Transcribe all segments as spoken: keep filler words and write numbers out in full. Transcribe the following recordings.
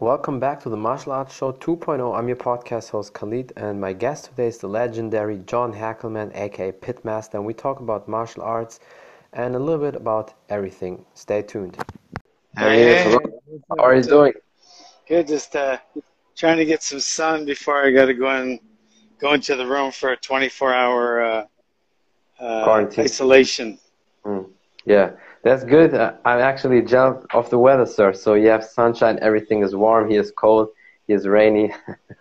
Welcome back to the Martial Arts Show 2.0. I'm your podcast host Khalid, and my guest today is the legendary John Hackleman, aka Pitmaster, and we talk about martial arts and a little bit about everything. Stay tuned. There he is. Hello. What's How up? are you What's up? doing? Good. Just uh, trying to get some sun before I got to go and go into the room for a twenty-four hour uh, uh, Quarantine. isolation. Mm. Yeah, that's good. Uh, I'm actually jealous of the weather, sir. So you have sunshine, everything is warm. He is cold, he is rainy.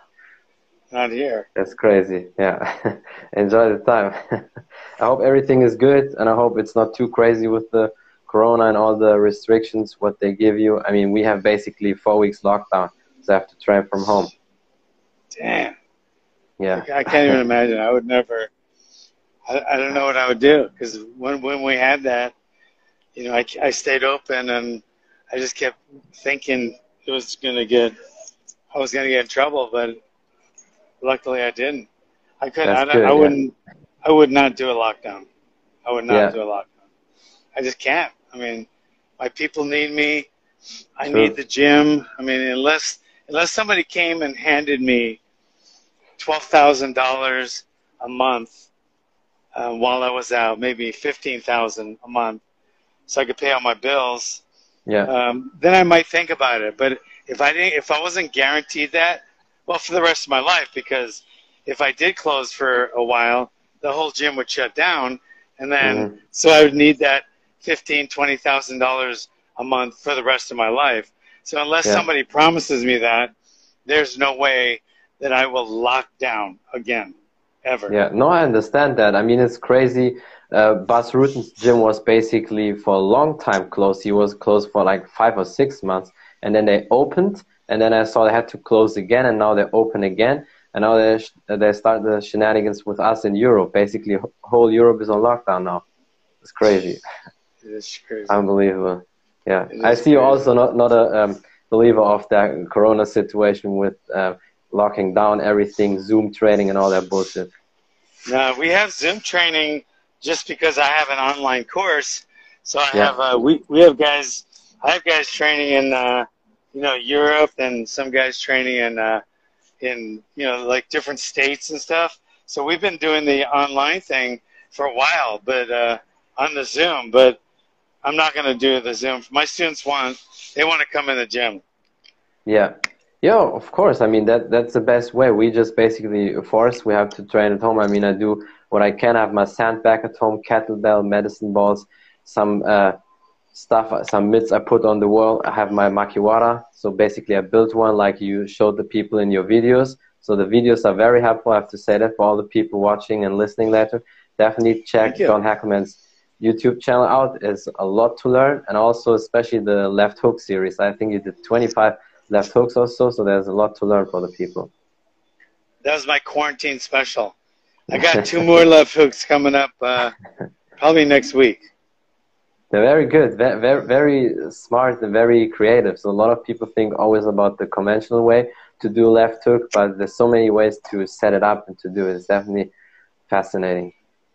Not here. That's crazy. Yeah. Enjoy the time. I hope everything is good, and I hope it's not too crazy with the corona and all the restrictions, what they give you. I mean, we have basically four weeks lockdown, so I have to train from home. Damn. Yeah. I can't even imagine. I would never. I, I don't know what I would do because when when we had that, you know, I, I stayed open and I just kept thinking it was gonna get. I was gonna get in trouble, but luckily I didn't. I couldn't. That's I, don't- good, I yeah. wouldn't. I would not do a lockdown. I would not Yeah. do a lockdown. I just can't. I mean, my people need me. I True. need the gym. I mean, unless unless somebody came and handed me twelve thousand dollars a month uh, while I was out, maybe fifteen thousand a month, so I could pay all my bills, Yeah. um, then I might think about it. But if I didn't, if I wasn't guaranteed that, well, for the rest of my life, because if I did close for a while, the whole gym would shut down, and then Mhm. so I would need that fifteen, twenty thousand dollars a month for the rest of my life. So unless Yeah. somebody promises me that, there's no way that I will lock down again, ever. Yeah, no, I understand that. I mean, it's crazy. Uh, Bas Rutten's gym was basically for a long time closed. He was closed for like five or six months, and then they opened, and then I saw they had to close again, and now they open again, and now they sh they start the shenanigans with us in Europe. Basically, wh- whole Europe is on lockdown now. It's crazy, It is crazy. unbelievable. Yeah, It I is see you crazy. also not not a um, believer of that Corona situation with uh, locking down everything, Zoom training, and all that bullshit. No, we have Zoom training just because I have an online course. So I Yeah. have uh, we we have guys. I have guys training in uh, you know Europe and some guys training in uh, in you know like different states and stuff. So we've been doing the online thing for a while, but uh, on the Zoom. But I'm not going to do the Zoom. My students want they want to come in the gym. Yeah. Yeah, of course. I mean, that that's the best way. We just basically force. We have to train at home. I mean, I do what I can. I have my sandbag at home, kettlebell, medicine balls, some uh, stuff, some mitts I put on the wall. I have my makiwara. So basically, I built one like you showed the people in your videos. So the videos are very helpful. I have to say that for all the people watching and listening later. Definitely check Thank you. John Hackleman's YouTube channel out. There's a lot to learn, and also especially the left hook series. I think you did twenty-five left hooks also, so there's a lot to learn for the people. That was my quarantine special. I got two more left hooks coming up uh, probably next week. They're very good, very, very, very smart and very creative. So a lot of people think always about the conventional way to do left hook, but there's so many ways to set it up and to do it. It's definitely fascinating.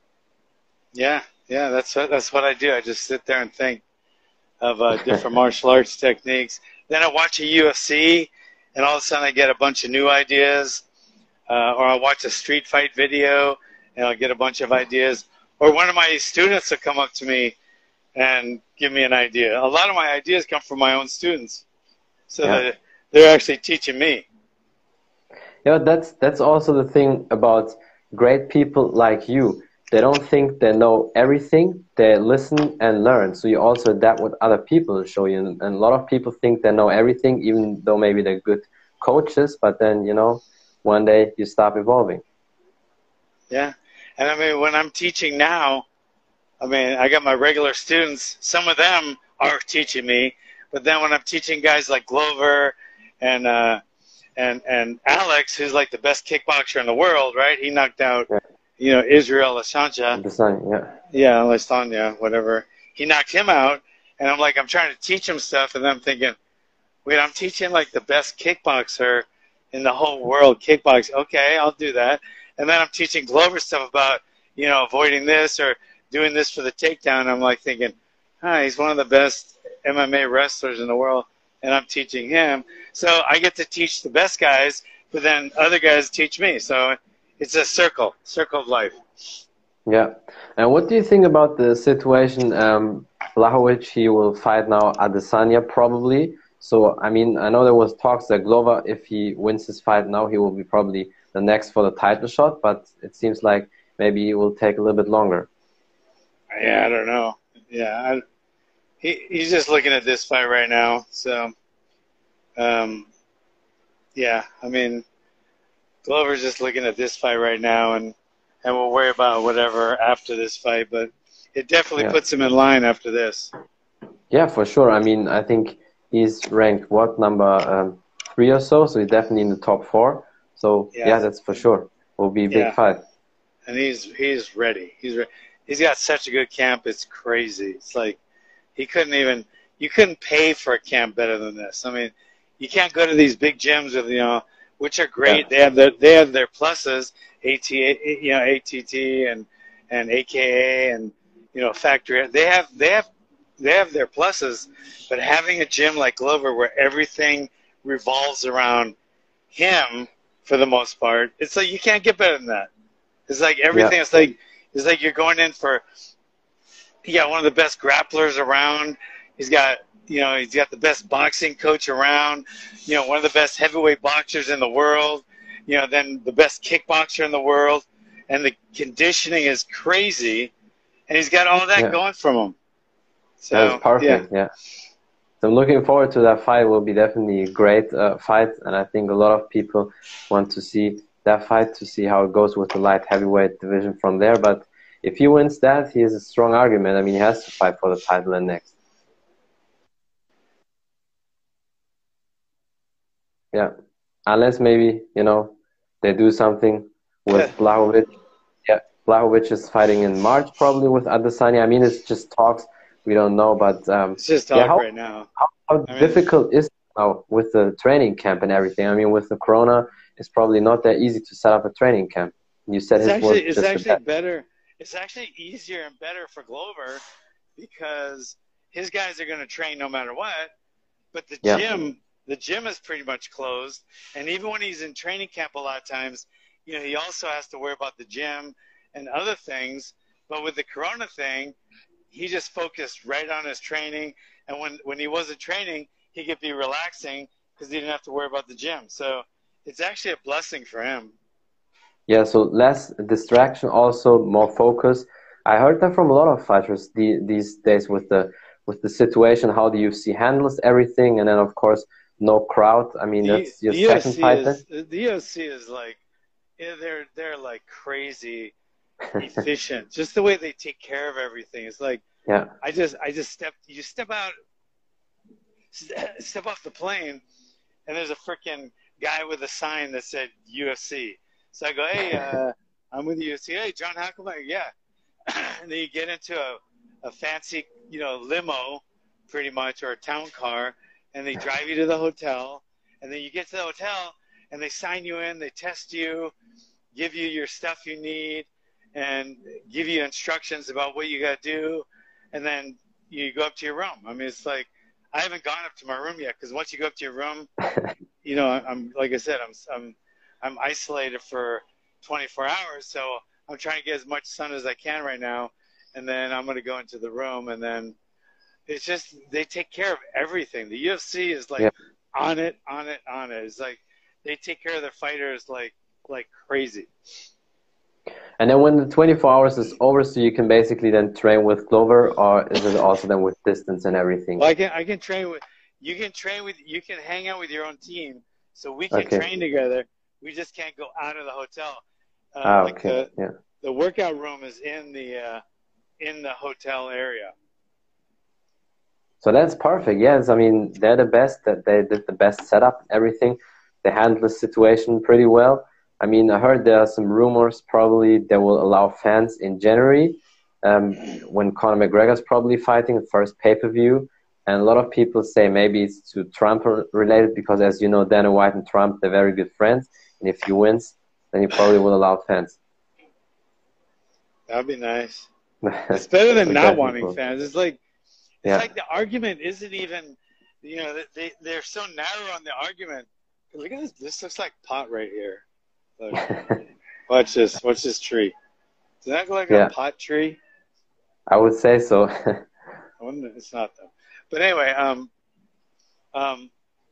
Yeah, yeah, that's what that's what I do. I just sit there and think of uh, different martial arts techniques. Then I watch a U F C, and all of a sudden I get a bunch of new ideas. Uh, or I'll watch a street fight video, and I'll get a bunch of ideas. Or one of my students will come up to me and give me an idea. A lot of my ideas come from my own students, so Yeah. that they're actually teaching me. Yeah, that's that's also the thing about great people like you. They don't think they know everything. They listen and learn. So you also adapt what other people show you. And a lot of people think they know everything, even though maybe they're good coaches. But then, you know, one day you stop evolving. Yeah, and I mean, when I'm teaching now, I mean, I got my regular students. Some of them are teaching me, but then when I'm teaching guys like Glover and uh, and and Alex, who's like the best kickboxer in the world, right? He knocked out, Yeah. you know, Israel Ashancha. The sun, yeah. Yeah, Lestanya, whatever. He knocked him out, and I'm like, I'm trying to teach him stuff, and I'm thinking, wait, I'm teaching like the best kickboxer in the whole world, kickboxing. Okay, I'll do that. And then I'm teaching Glover stuff about, you know, avoiding this or doing this for the takedown. I'm like thinking, ah, he's one of the best M M A wrestlers in the world. and I'm teaching him. So I get to teach the best guys, but then other guys teach me. So it's a circle, circle of life. Yeah. And what do you think about the situation? Um, Blachowicz, he will fight now Adesanya probably. So, I mean, I know there was talks that Glover, if he wins his fight now, he will be probably the next for the title shot. But it seems like maybe it will take a little bit longer. Yeah, I don't know. Yeah, I, he he's just looking at this fight right now. So, um, yeah, I mean, Glover's just looking at this fight right now, and and we'll worry about whatever after this fight. But it definitely Yeah. puts him in line after this. Yeah, for sure. I mean, I think he's ranked, what, number um, three or so? So he's definitely in the top four. So, yeah, Yeah. that's for sure. Will be a big Yeah. fight. And he's he's ready. He's re- he's got such a good camp. It's crazy. It's like he couldn't even you couldn't pay for a camp better than this. I mean, you can't go to these big gyms with you know, which are great. Yeah. They have their they have their pluses. AT you know A T T and and A K A and you know Factory. They have they have they have their pluses, but having a gym like Glover where everything revolves around him for the most part, it's like you can't get better than that. It's like everything. Yeah. It's like it's like you're going in for. He got one of the best grapplers around. He's got you know he's got the best boxing coach around. You know one of the best heavyweight boxers in the world. You know then the best kickboxer in the world, and the conditioning is crazy, and he's got all that Yeah. going from him. So That's perfect, yeah. So I'm looking forward to that fight. It will be definitely a great uh, fight, and I think a lot of people want to see that fight to see how it goes with the light heavyweight division from there. But if he wins that, he has a strong argument. I mean, he has to fight for the title and next. Yeah, unless maybe, you know, they do something with Yeah. Blachowicz. Yeah, Blachowicz is fighting in March probably with Adesanya. I mean, it's just talks. We don't know, but um, It's just talk yeah, how, right now. how, how I mean- difficult is it now with the training camp and everything? I mean, with the corona, it's probably not that easy to set up a training camp. You said It's his was actually it's just the actually best. better. It's actually easier and better for Glover because his guys are going to train no matter what. But the Yeah. gym, the gym is pretty much closed. And even when he's in training camp, a lot of times, you know, he also has to worry about the gym and other things. But with the Corona thing, he just focused right on his training. And when when he wasn't training, he could be relaxing because he didn't have to worry about the gym. So it's actually a blessing for him. Yeah, so less distraction, also more focus. I heard that from a lot of fighters the, these days with the with the situation, how the U F C handles everything, and then of course no crowd. I mean, that's your the second U F C fight. is, Then? the U F C is like, yeah, they're they're like crazy efficient. Just the way they take care of everything. It's like Yeah, I just I just step you step out, step off the plane, and there's a freaking guy with a sign that said U F C. So I go, hey, uh, I'm with the U F C. Hey, John Hackleman, yeah. And then you get into a, a fancy, you know, limo, pretty much, or a town car, and they drive you to the hotel. And then you get to the hotel, and they sign you in, they test you, give you your stuff you need, and give you instructions about what you got to do. And then you go up to your room. I mean, it's like, I haven't gone up to my room yet, because once you go up to your room, you know, I'm, like I said, I'm, I'm, I'm isolated for twenty-four hours, so I'm trying to get as much sun as I can right now, and then I'm going to go into the room, and then it's just they take care of everything. The U F C is like Yeah. on it, on it, on it. It's like they take care of their fighters like like crazy. And then when the twenty-four hours is over, so you can basically then train with Glover, or is it also then with distance and everything? Well, I can I can train with you can train with you can hang out with your own team, so we can Okay. train together. We just can't go out of the hotel. Uh, Ah, like okay. the, Yeah. the workout room is in the uh, in the hotel area. So that's perfect. Yes, I mean, they're the best. That they did the best setup, everything. They handled the situation pretty well. I mean, I heard there are some rumors probably they will allow fans in January um, when Conor McGregor's probably fighting the first pay-per-view. And a lot of people say maybe it's to Trump related because, as you know, Dana White and Trump, they're very good friends. And if he wins, then he probably will allow fans. That'd be nice. It's better than not Exactly. wanting fans. It's like it's Yeah. like the argument isn't even you know, they, they're so narrow on the argument. Look at this. This looks like pot right here. Look. Watch this. Watch this tree. Does that look like Yeah. a pot tree? I would say so. I wonder, it's not though. But anyway, um, um,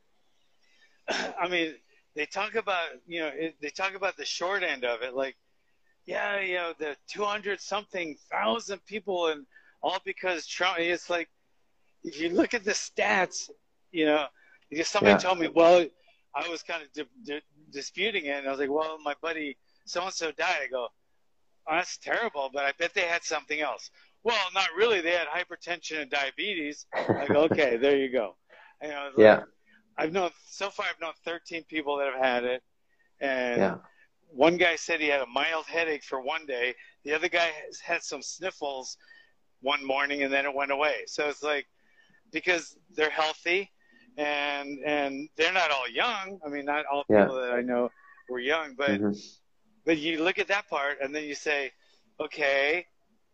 I mean, they talk about, you know, it, they talk about the short end of it, like, yeah, you know, the two hundred something thousand people, and all because Trump. It's like, if you look at the stats, you know, because somebody Yeah. told me, well, I was kind of di- di- disputing it, and I was like, well, my buddy so and so died. I go, oh, that's terrible, but I bet they had something else. Well, not really. They had hypertension and diabetes. I go, okay, there you go. You know, like, Yeah. I've known so far. I've known thirteen people that have had it, and Yeah. one guy said he had a mild headache for one day. The other guy has had some sniffles one morning, and then it went away. So it's like, because they're healthy, and and they're not all young. I mean, not all Yeah. people that I know were young, but hmm but you look at that part, and then you say, okay.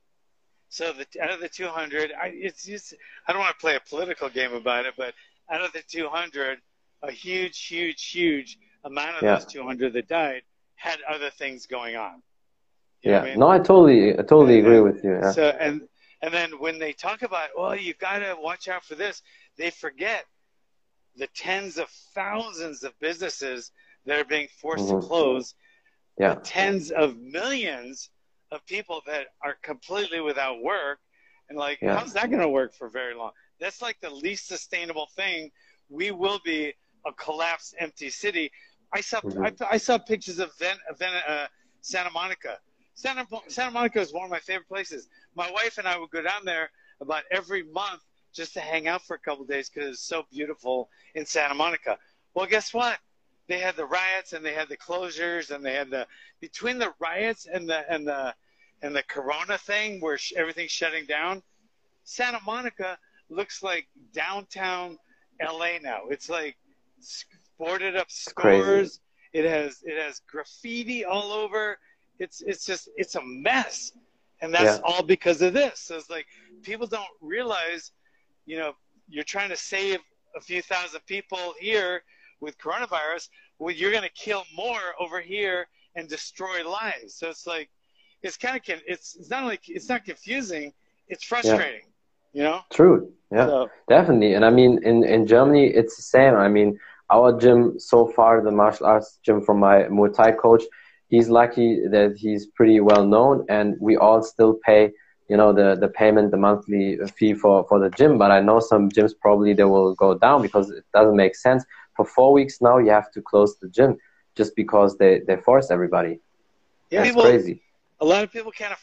So the, out of the two hundred, I, it's just, I don't want to play a political game about it, but out of the two hundred, a huge, huge, huge amount of Yeah. those two hundred that died had other things going on. You know Yeah. what I mean? No, I totally, I totally And agree then- with you. Yeah. So and and then when they talk about, well, you got to watch out for this, they forget the tens of thousands of businesses that are being forced Mhm. to close, Yeah. the tens of millions of people that are completely without work, and like, Yeah. how's that going to work for very long? That's like the least sustainable thing. We will be a collapsed, empty city. I saw Mhm. I, I saw pictures of Ven, Ven, uh, Santa Monica. Santa Santa Monica is one of my favorite places. My wife and I would go down there about every month just to hang out for a couple of days because it's so beautiful in Santa Monica. Well, guess what? They had the riots and they had the closures and they had the between the riots and the and the and the Corona thing where sh- everything's shutting down. Santa Monica looks like downtown L A now. It's like s- boarded up crazy. stores. It has it has graffiti all over. It's it's just it's a mess, and that's Yeah. all because of this. So it's like people don't realize, you know, you're trying to save a few thousand people here with coronavirus. Well, you're going to kill more over here and destroy lives. So it's like it's kind of it's it's not like it's not confusing. It's frustrating, you know. True. Yeah. So Definitely. And I mean, in, in Germany, it's the same. I mean, our gym so far, the martial arts gym from my Muay Thai coach, he's lucky that he's pretty well known, and we all still pay, you know, the, the payment, the monthly fee for, for the gym. But I know some gyms probably they will go down because it doesn't make sense. For four weeks now, you have to close the gym just because they, they force everybody. yeah, That's people, crazy. a lot of people can't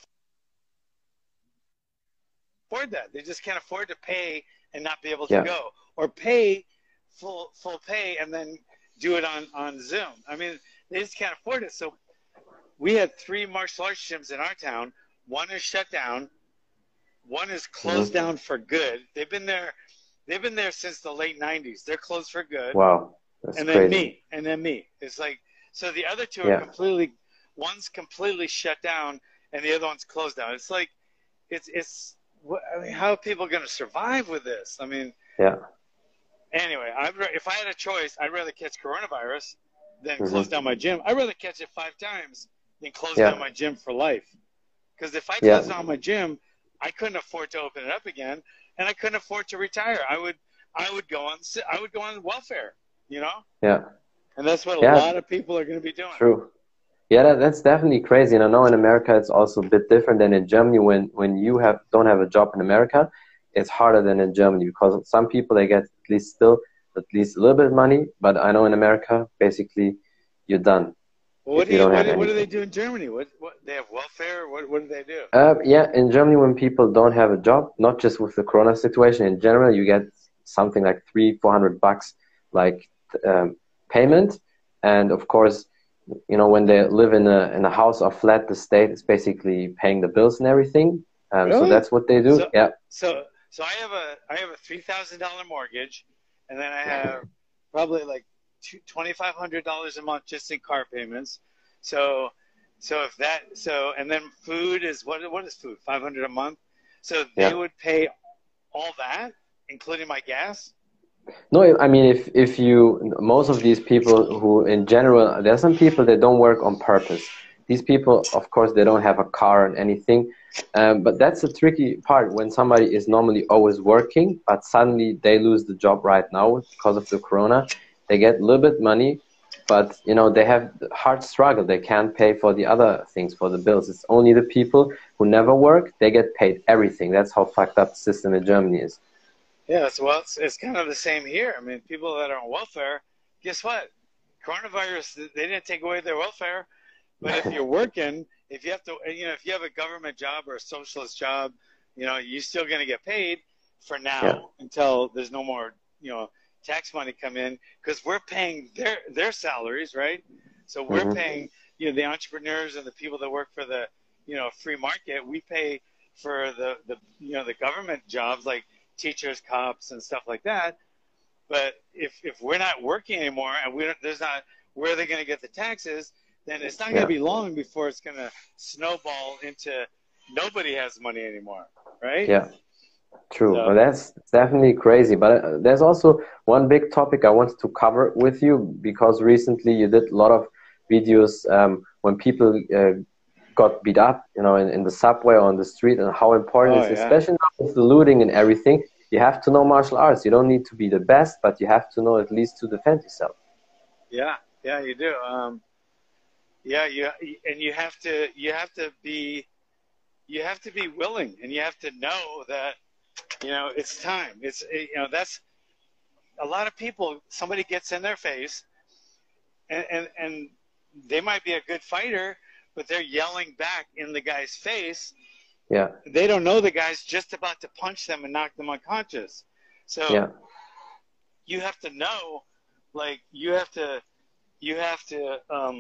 afford that. They just can't afford to pay and not be able to Yeah. go, or pay full full pay and then do it on, on Zoom. I mean, they just can't afford it. So we had three martial arts gyms in our town. One is shut down. One is closed Mhm. down for good. They've been there. They've been there since the late nineties. They're closed for good. Wow. That's and then crazy. me, and then me. It's like, so the other two are Yeah. completely, one's completely shut down, and the other one's closed down. It's like, it's, it's, what, I mean, how are people going to survive with this? I mean, Yeah. anyway, I'd, ra- if I had a choice, I'd rather catch coronavirus than Mhm. close down my gym. I'd rather catch it five times than close Yeah. down my gym for life. Because if I Yeah. closed down my gym, I couldn't afford to open it up again, and I couldn't afford to retire. I would, I would go on, I would go on welfare, you know? Yeah. And that's what a Yeah. lot of people are going to be doing. True. Yeah, that, that's definitely crazy. And I know in America it's also a bit different than in Germany. When when you have don't have a job in America, it's harder than in Germany because some people they get at least still at least a little bit of money. But I know in America, basically, you're done. Well, what if do you you, don't what, have do- what do they anything. do in Germany? What what they have welfare? What what do they do? Uh, yeah, in Germany, when people don't have a job, not just with the Corona situation, in general, you get something like three, four hundred bucks, like um, payment, and of course, you know, when they live in a in a house or flat, the state is basically paying the bills and everything. Um, So Really? that's what they do. So- Yeah, So so I have a I have a three thousand dollar mortgage, and then I have probably like twenty five hundred dollars a month just in car payments. So so if that so and then food is what what is food five hundred a month. So they Yeah. would pay all that, including my gas. No, I mean, if if you, most of these people who, in general, there are some people that don't work on purpose. These people, of course, they don't have a car and anything. Um, but that's the tricky part when somebody is normally always working, but suddenly they lose the job right now because of the corona. They get a little bit money, but you know they have hard struggle. They can't pay for the other things, for the bills. It's only the people who never work. They get paid everything. That's how fucked up the system in Germany is. Yeah, it's, well, it's, it's kind of the same here. I mean, people that are on welfare, guess what? Coronavirus, they didn't take away their welfare. But if you're working, if you have to, you know, if you have a government job or a socialist job, you know, you're still going to get paid for now Yeah. until there's no more, you know, tax money come in, because we're paying their their salaries, right? So we're Mhm. paying, you know, the entrepreneurs and the people that work for the, you know, free market. We pay for the, the you know, the government jobs like teachers, cops, and stuff like that. But if if we're not working anymore and we don't, there's not, where are they going to get the taxes? Then it's not going to Yeah. be long before it's going to snowball into nobody has money anymore, right? Yeah. True. So, Well, that's definitely crazy. But uh, there's also one big topic I wanted to cover with you, because recently you did a lot of videos um, when people uh, got beat up, you know, in, in the subway or on the street, and how important oh it is, yeah, especially now with the looting and everything. You have to know martial arts. You don't need to be the best, but you have to know at least to defend yourself. yeah, yeah, you do. Um, yeah, you and you have to you have to be you have to be willing, and you have to know that, you know, it's time. It's, you know, that's a lot of people. Somebody gets in their face, and and, and they might be a good fighter, but they're yelling back in the guy's face. Yeah. They don't know the guy's just about to punch them and knock them unconscious. So Yeah. you have to know, like, you have to, you have to, um,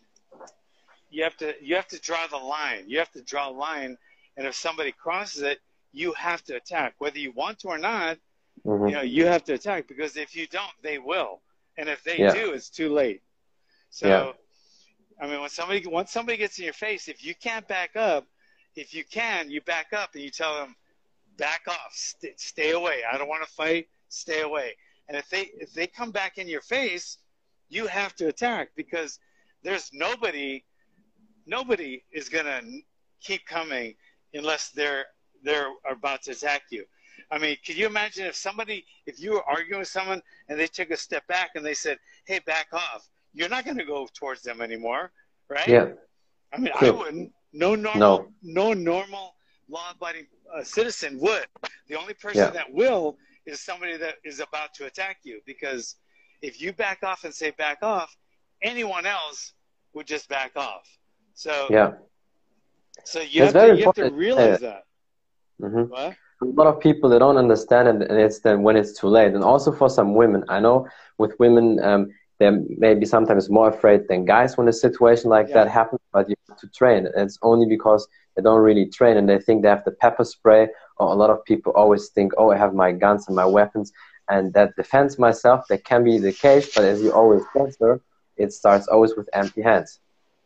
you have to, you have to draw the line. You have to draw a line, and if somebody crosses it, you have to attack, whether you want to or not. Mhm. You know, you have to attack, because if you don't, they will, and if they Yeah. do, it's too late. So, Yeah. I mean, when somebody once somebody gets in your face, if you can't back up, if you can, you back up and you tell them, back off, st- stay away. I don't want to fight. Stay away. And if they if they come back in your face, you have to attack, because there's nobody nobody is gonna keep coming unless they're they're about to attack you. I mean, could you imagine if somebody if you were arguing with someone and they took a step back and they said, "Hey, back off." You're not going to go towards them anymore, right? Yeah. I mean, True. I wouldn't. No normal, No. no normal law-abiding uh, citizen would. The only person Yeah. that will is somebody that is about to attack you, because if you back off and say back off, anyone else would just back off. So, Yeah. so you It's have very to you have to important. realize that. Mhm. What? A lot of people, they don't understand it, and it's then when it's too late. And also for some women, I know with women, um, they're maybe sometimes more afraid than guys when a situation like Yeah. that happens, but you have to train. And it's only because they don't really train and they think they have the pepper spray, or a lot of people always think, oh, I have my guns and my weapons, and that defends myself. That can be the case, but as you always answer, it starts always with empty hands.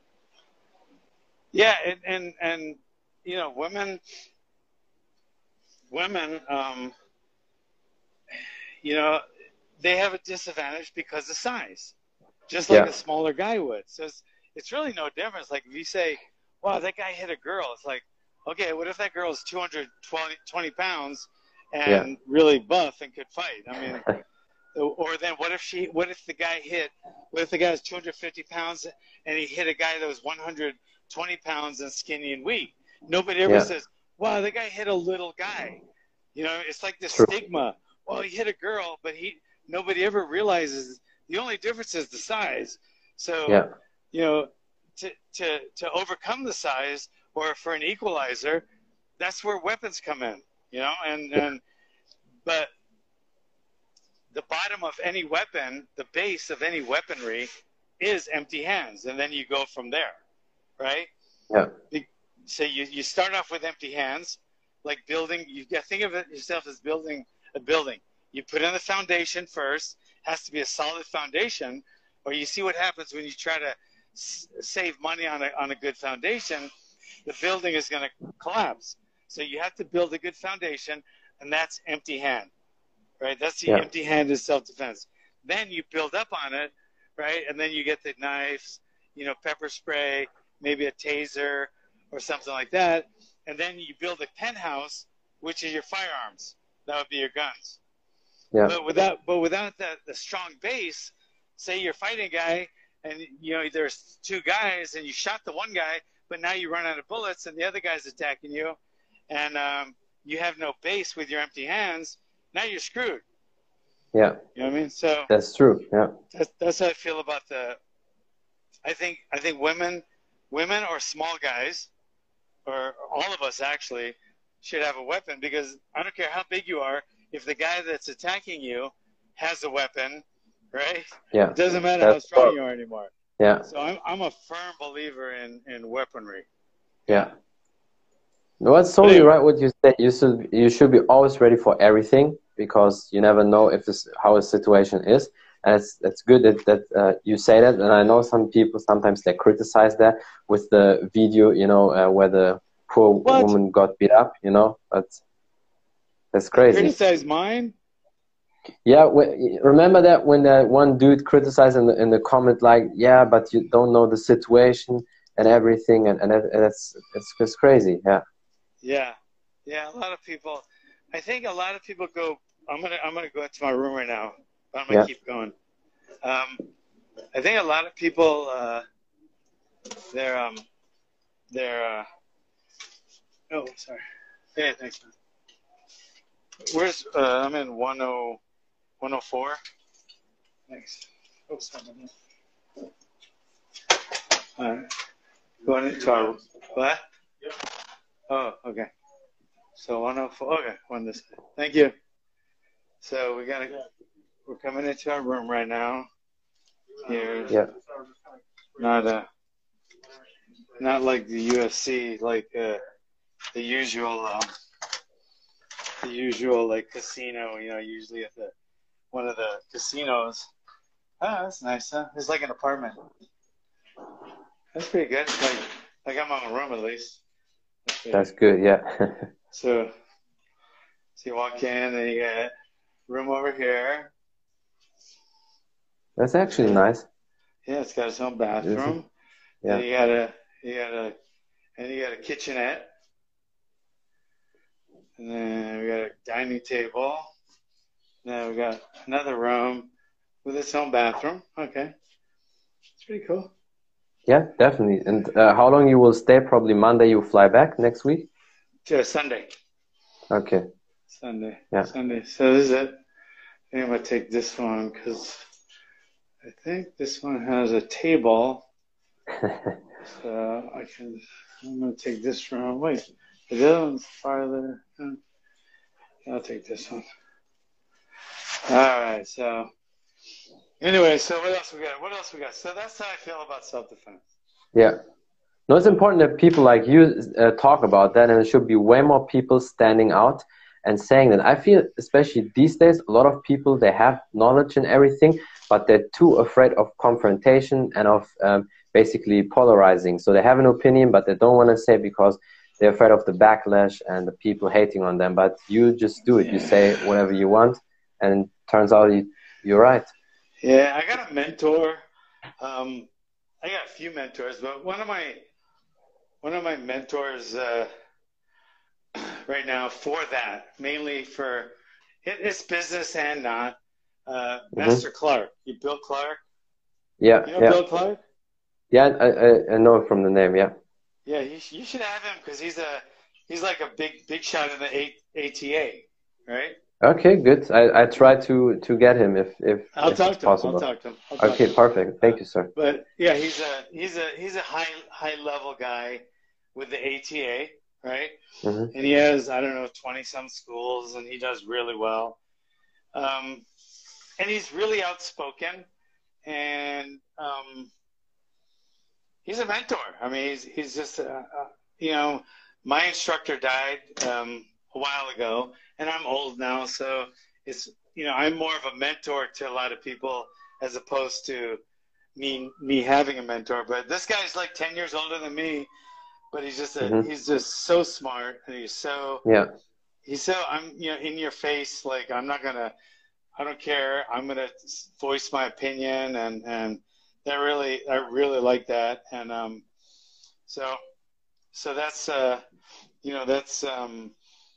Yeah, and and, and you know, women, women, um, you know, they have a disadvantage because of size, just like Yeah. a smaller guy would. So it's, it's really no difference. Like if you say, wow, that guy hit a girl, it's like, okay, what if that girl is two hundred twenty pounds and Yeah. really buff and could fight? I mean, or then what if she, what if the guy hit, what if the guy was two hundred fifty pounds and he hit a guy that was one hundred twenty pounds and skinny and weak? Nobody ever Yeah. says, wow, the guy hit a little guy. You know, it's like the True. stigma. Well, he hit a girl, but he, nobody ever realizes the only difference is the size. So, Yeah. you know, to, to, to overcome the size, or for an equalizer, that's where weapons come in, you know, and, and, but the bottom of any weapon, the base of any weaponry is empty hands. And then you go from there, right? Yeah. So you, you start off with empty hands, like building, you think of it yourself as building a building. You put in the foundation first, has to be a solid foundation, or you see what happens when you try to s- save money on a, on a good foundation, the building is going to collapse. So you have to build a good foundation, and that's empty hand. right? That's the Yeah. empty-handed self-defense. Then you build up on it, right? And then you get the knives, you know, pepper spray, maybe a taser or something like that. And then you build a penthouse, which is your firearms. That would be your guns. Yeah. But without, but without the, the strong base, say you're fighting a guy and, you know, there's two guys and you shot the one guy, but now you run out of bullets and the other guy's attacking you and um, you have no base with your empty hands, now you're screwed. Yeah. You know what I mean? So that's true. Yeah. That's, that's how I feel about the, I think, I think women, women or small guys, or all of us actually, should have a weapon because I don't care how big you are, if the guy that's attacking you has a weapon, right? Yeah. It doesn't matter That's how strong true. you are anymore. Yeah. So I'm I'm a firm believer in, in weaponry. Yeah. No, it's totally anyway. right what you said. You should you should be always ready for everything because you never know if this how a situation is. And it's it's good that that uh, you say that. And I know some people sometimes they criticize that with the video, you know, uh, where the poor What? woman got beat up, you know. But that's crazy. Criticize mine? Yeah, w- remember that when that one dude criticized in the in the comment like, yeah, but you don't know the situation and everything, and and, it, and it's it's it's crazy. Yeah. Yeah, yeah. A lot of people. I think a lot of people go. I'm gonna I'm gonna go into my room right now. But I'm gonna Yeah. keep going. Um, I think a lot of people. Uh, they're um, they're. Uh, oh, sorry. Yeah, thanks, man. Where's uh, I'm in one oh one oh four. Thanks. Oh, sorry. All right. Going into our what? Oh, okay. So one oh four. Okay, one this way. Thank you. So we gotta. We're coming into our room right now. Here's Yeah. not uh not like the U F C, like uh, the usual um, the usual like casino. You know, usually at the one of the casinos. Oh, that's nice, huh? It's like an apartment. That's pretty good. Like like I'm on a room at least. That's pretty That's good. Yeah. So, so you walk in and you got room over here. That's actually nice. Yeah, it's got its own bathroom. Yeah. And you got a, you got a, and you got a kitchenette. And then we got a dining table. Then we got another room with its own bathroom. Okay, it's pretty cool. Yeah, definitely. And uh, how long you will stay? Probably Monday. You fly back next week. To Sunday. Okay. Sunday. Yeah. Sunday. So this is it. I think I'm gonna take this one because I think this one has a table. So I can. I'm gonna take this room. Wait, the other one's farther. Hmm. I'll take this one. All right. So anyway, so what else we got? What else we got? So that's how I feel about self-defense. Yeah. No, it's important that people like you uh, talk about that, and there should be way more people standing out and saying that. I feel, especially these days, a lot of people, they have knowledge and everything, but they're too afraid of confrontation and of um, basically polarizing. So they have an opinion, but they don't want to say because they're afraid of the backlash and the people hating on them. But you just do it. You say whatever you want, and it turns out you, you're right. Yeah, I got a mentor. Um, I got a few mentors, but one of my one of my mentors uh, right now for that, mainly for it, it's business and not, uh, Master Mm-hmm. Clark. You Bill Clark? Yeah, You know yeah. Bill Clark? Yeah, I, I, I know it from the name, yeah. Yeah, you, you should have him because he's a he's like a big big shot in the A- ATA, right? Okay, good. I, I try to, to get him if, if, I'll if talk it's to him. possible. I'll talk to him. I'll talk Okay, to him. perfect. Thank you, sir. But yeah, he's a he's a he's a high high level guy with the A T A, right? Mm-hmm. And he has I don't know twenty some schools, and he does really well. Um, and he's really outspoken, and um, he's a mentor. I mean, he's he's just uh, uh, you know, my instructor died um, a while ago, and I'm old now, so it's you know I'm more of a mentor to a lot of people as opposed to me me having a mentor. But this guy's like ten years older than me, but he's just a Mm-hmm. he's just so smart, and he's so Yeah. he's so I'm you know in your face. Like I'm not gonna. I don't care. I'm gonna voice my opinion, and and that really I really like that. And um, so so that's uh, you know that's um,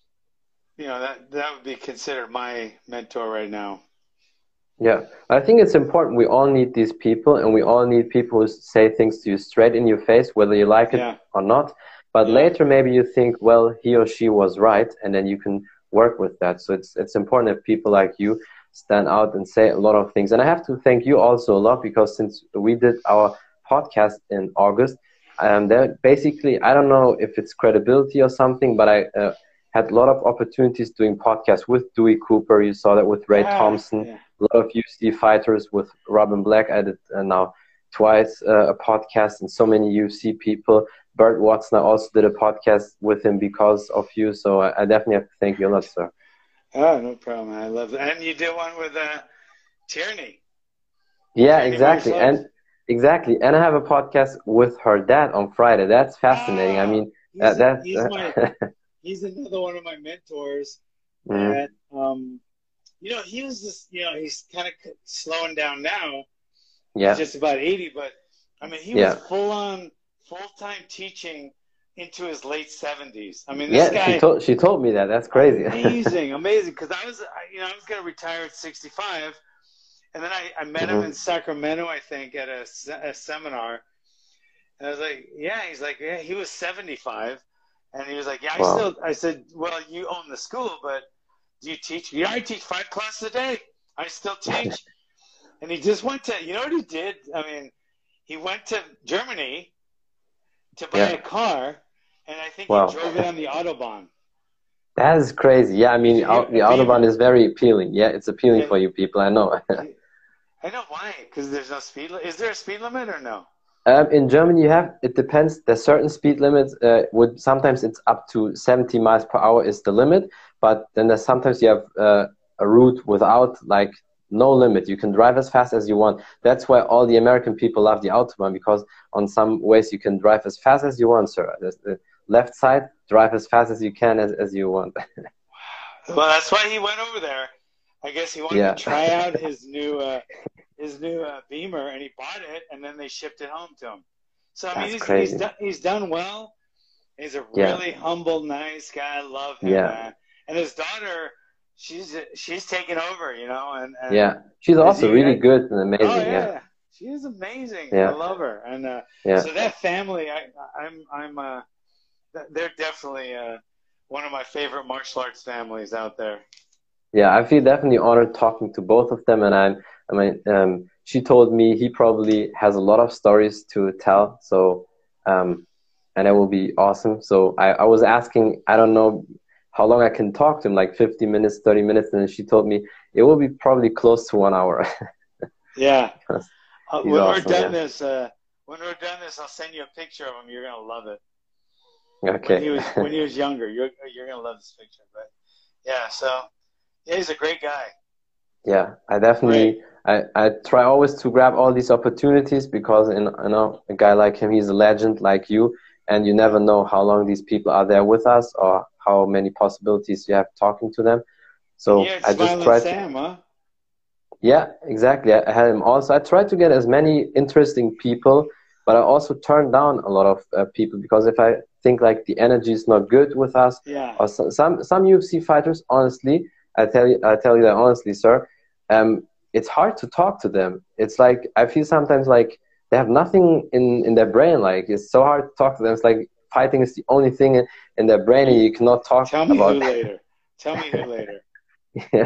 you know that that would be considered my mentor right now. Yeah, I think it's important. We all need these people, and we all need people who say things to you straight in your face, whether you like it Yeah. or not. But Yeah. later, maybe you think, well, he or she was right, and then you can work with that. So it's it's important that people like you stand out and say a lot of things. And I have to thank you also a lot, because since we did our podcast in August, um, there basically, I don't know if it's credibility or something, but I uh, had a lot of opportunities doing podcasts with Dewey Cooper. You saw that with Ray Ah, Thompson. yeah. A lot of U F C fighters with Robin Black. I did uh, now twice uh, a podcast, and so many U F C people. Bert Watson, I also did a podcast with him because of you. So I, I definitely have to thank you a lot, sir. Oh, no problem. I love that. And you did one with uh, Tierney. Yeah, Tierney exactly. Marshall. And exactly. And I have a podcast with her dad on Friday. That's fascinating. Ah, I mean, he's, uh, that, he's, uh, my, he's another one of my mentors. mm, That, um, you know, he was just, you know, he's kind of slowing down now. yeah, He's just about eighty, but I mean, he yeah. was full on, full time teaching into his late seventies. I mean, this Yeah, guy. she told she told me that. That's crazy. Amazing, amazing. Because I was, I- you know, I was going to retire at sixty-five, and then I, I met him Mhm. in Sacramento, I think, at a, se- a seminar. And I was like, yeah. He's like, yeah. He was seventy-five, and he was like, yeah. I Wow. still. I said, well, you own the school, but do you teach? Yeah, I teach five classes a day. I still teach. And he just went to. You know what he did? I mean, he went to Germany to buy Yeah. a car, and I think Wow. he drove it on the Autobahn. That is crazy. Yeah, I mean, Yeah, au- the a Autobahn Beamer. is very appealing. Yeah, it's appealing Yeah. for you people. I know. I know why, because there's no speed limit. Is there a speed limit or no? Um, in Germany, you have, it depends. There's certain speed limits. Uh, would sometimes it's up to seventy miles per hour is the limit, but then there's sometimes you have uh, a route without like no limit. You can drive as fast as you want. That's why all the American people love the Autobahn, because on some ways you can drive as fast as you want, sir. There's the left side, drive as fast as you can as, as you want. Well, that's why he went over there. I guess he wanted Yeah. to try out his new uh, his new uh, Beamer, and he bought it, and then they shipped it home to him. So I mean, That's he's crazy. he's done he's done well. He's a Yeah. really humble, nice guy. I love him, Yeah. man. And his daughter, she's she's taken over, you know. And, and Yeah, she's also he- really I- good and amazing. Oh yeah, Yeah, she is amazing. Yeah. I love her. And uh, yeah. so that family, I, I'm I'm uh, th- they're definitely uh, one of my favorite martial arts families out there. Yeah, I feel definitely honored talking to both of them, and I'm, I mean, um, she told me he probably has a lot of stories to tell, so, um, and it will be awesome. So I, I was asking, I don't know how long I can talk to him, like fifty minutes, thirty minutes, and then she told me it will be probably close to one hour. Yeah. He's Uh, when awesome, we're done yeah. this, uh, when we're done this, I'll send you a picture of him. You're gonna love it. Okay. When he was when he was younger, you're you're gonna love this picture. But yeah, so yeah, he's a great guy. Yeah, I definitely, I, I try always to grab all these opportunities, because in, you know, a guy like him, he's a legend like you, and you never know how long these people are there with us or how many possibilities you have talking to them. So Yeah, I just Smiling try to, Sam, huh? yeah, exactly. I had him also. I try to get as many interesting people, but I also turn down a lot of uh, people, because if I think like the energy is not good with us, Yeah. or some some, some U F C fighters, honestly, I tell you, I tell you that honestly, sir, um, it's hard to talk to them. It's like I feel sometimes like they have nothing in, in their brain. Like it's so hard to talk to them. It's like fighting is the only thing in, in their brain, and you cannot talk Tell me about. who later. Tell me who later. Yeah.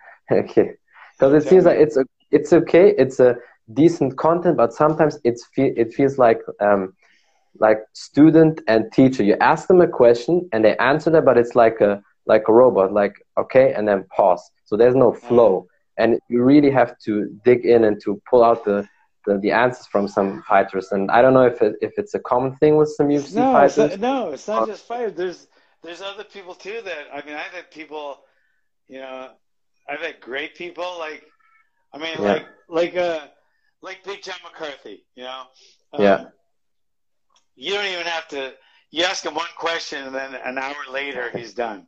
Okay. Because it Tell seems me. like it's a, it's okay. It's a decent content, but sometimes it's fe- it feels like um like student and teacher. You ask them a question and they answer that, but it's like a like a robot. Like okay, and then pause. So there's no flow, and you really have to dig in and to pull out the the, the answers from some fighters. And I don't know if it, if it's a common thing with some U F C No, it's fighters. not, no, it's not just fighters. There's there's other people too that I mean I've had people, you know, I've had great people like I mean Yeah. like like uh like Big John McCarthy, you know. Um, Yeah. You don't even have to. You ask him one question and then an hour later he's done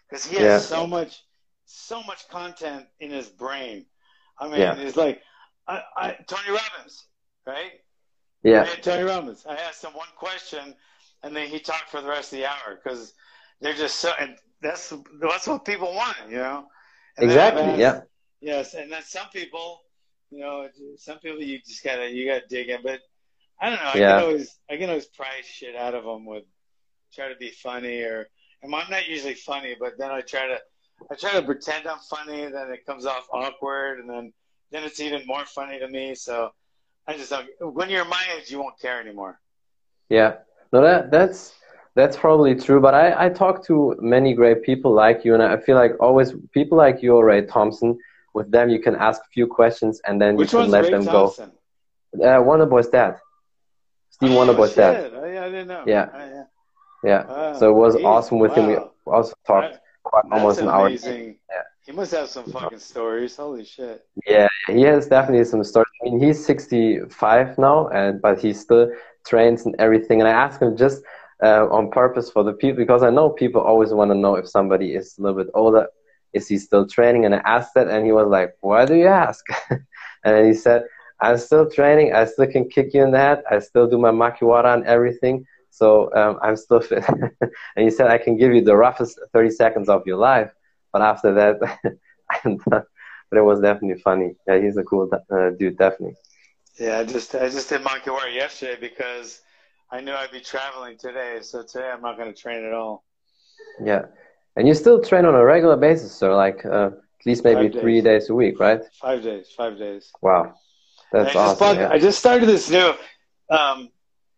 because he has Yeah. so much, so much content in his brain. I mean, Yeah. it's like I, I, Tony Robbins, right? Yeah. I had Tony Robbins. I asked him one question, and then he talked for the rest of the hour because they're just so. And that's that's what people want, you know. And then I've Exactly. asked- Yeah. Yes, and then some people, you know, some people you just gotta you gotta dig in. But I don't know. I Yeah. can always I can always pry shit out of them with try to be funny or. And I'm not usually funny, but then I try to I try to pretend I'm funny. Then it comes off awkward, and then then it's even more funny to me. So I just don't. When you're my age, you won't care anymore. Yeah. No, that that's that's probably true. But I I talk to many great people like you, and I feel like always people like you or Ray Thompson. With them, you can ask a few questions, and then Which you can one's let Ray them Thompson? go. Uh, Wonderboy's dad, Steve Oh, Wonderboy's shit. dad. Oh, yeah, I didn't know. Yeah. Oh, yeah. Yeah. Oh, So it was geez, awesome with him. We wow. also talked That- quite That's almost an hour. amazing. Yeah. He must have some fucking stories. Holy shit. Yeah, he has definitely some stories. I mean, he's sixty-five now, and but he still trains and everything. And I asked him just uh, on purpose for the people because I know people always want to know if somebody is a little bit older, is he still training? And I asked that, and he was like, "Why do you ask?" And then he said, "I'm still training. I still can kick you in the head. I still do my makiwara and everything. So um, I'm still fit." And he said, "I can give you the roughest thirty seconds of your life, but after that, I'm done." But it was definitely funny. Yeah, he's a cool uh, dude, definitely. Yeah, I just I just did monkey war yesterday because I knew I'd be traveling today. So today I'm not going to train at all. Yeah, and you still train on a regular basis, sir? Like uh, at least maybe Five three days. days a week, right? Five days. Five days. Wow, that's And I just awesome. bought, Yeah. I just started this new, um,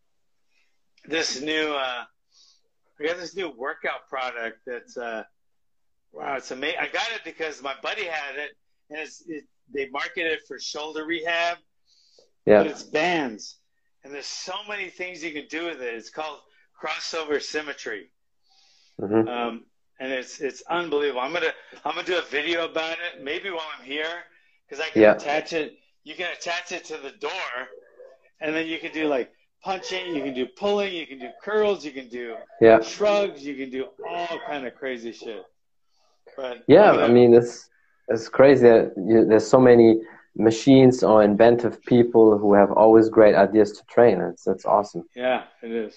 this new, uh, I got this new workout product that's, uh, wow, it's amazing. I got it because my buddy had it, and it's, it, they market it for shoulder rehab, Yeah. but it's bands, and there's so many things you can do with it. It's called crossover symmetry, Mm-hmm. um, and it's it's unbelievable. I'm gonna I'm gonna do a video about it, maybe while I'm here, because I can Yeah. attach it. You can attach it to the door, and then you can do like punching, you can do pulling, you can do curls, you can do Yeah. shrugs, you can do all kind of crazy shit. But Yeah, I'm gonna- I mean, it's it's crazy. that you- There's so many machines or inventive people who have always great ideas to train. It's it's awesome. yeah, it is.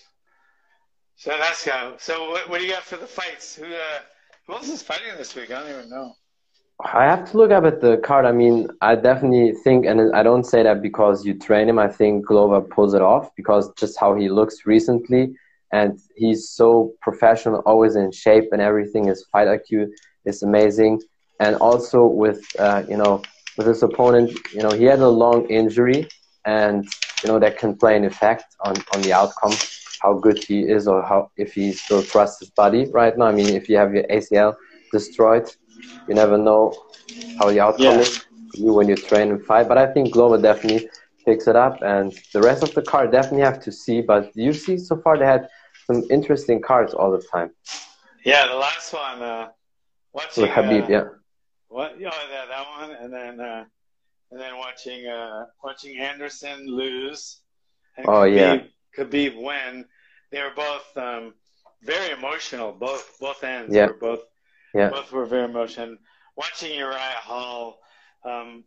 So that's how. So what, what do you got for the fights? Who uh, who else is fighting this week? I don't even know. I have to look up at the card. I mean, I definitely think, and I don't say that because you train him. I think Glover pulls it off because just how he looks recently, and he's so professional, always in shape and everything. His fight I Q is amazing, and also with uh, you know with his opponent, you know he had a long injury, and you know that can play an effect on on the outcome, how good he is or how if he still trusts his body right now. I mean, if you have your A C L destroyed, you never know how the outcome Yeah. is for you when you train and fight. But I think Glover definitely picks it up, and the rest of the card definitely have to see. But you see, so far they had some interesting cards all the time. Yeah, the last one. Uh, watching With Habib, uh, yeah, What? Yeah, that that one, and then uh, and then watching uh, watching Anderson lose, and Oh, Khabib, yeah. Khabib win. They were both um, very emotional. Both both ends Yeah. were both yeah, both were very emotional. Watching Uriah Hall, um,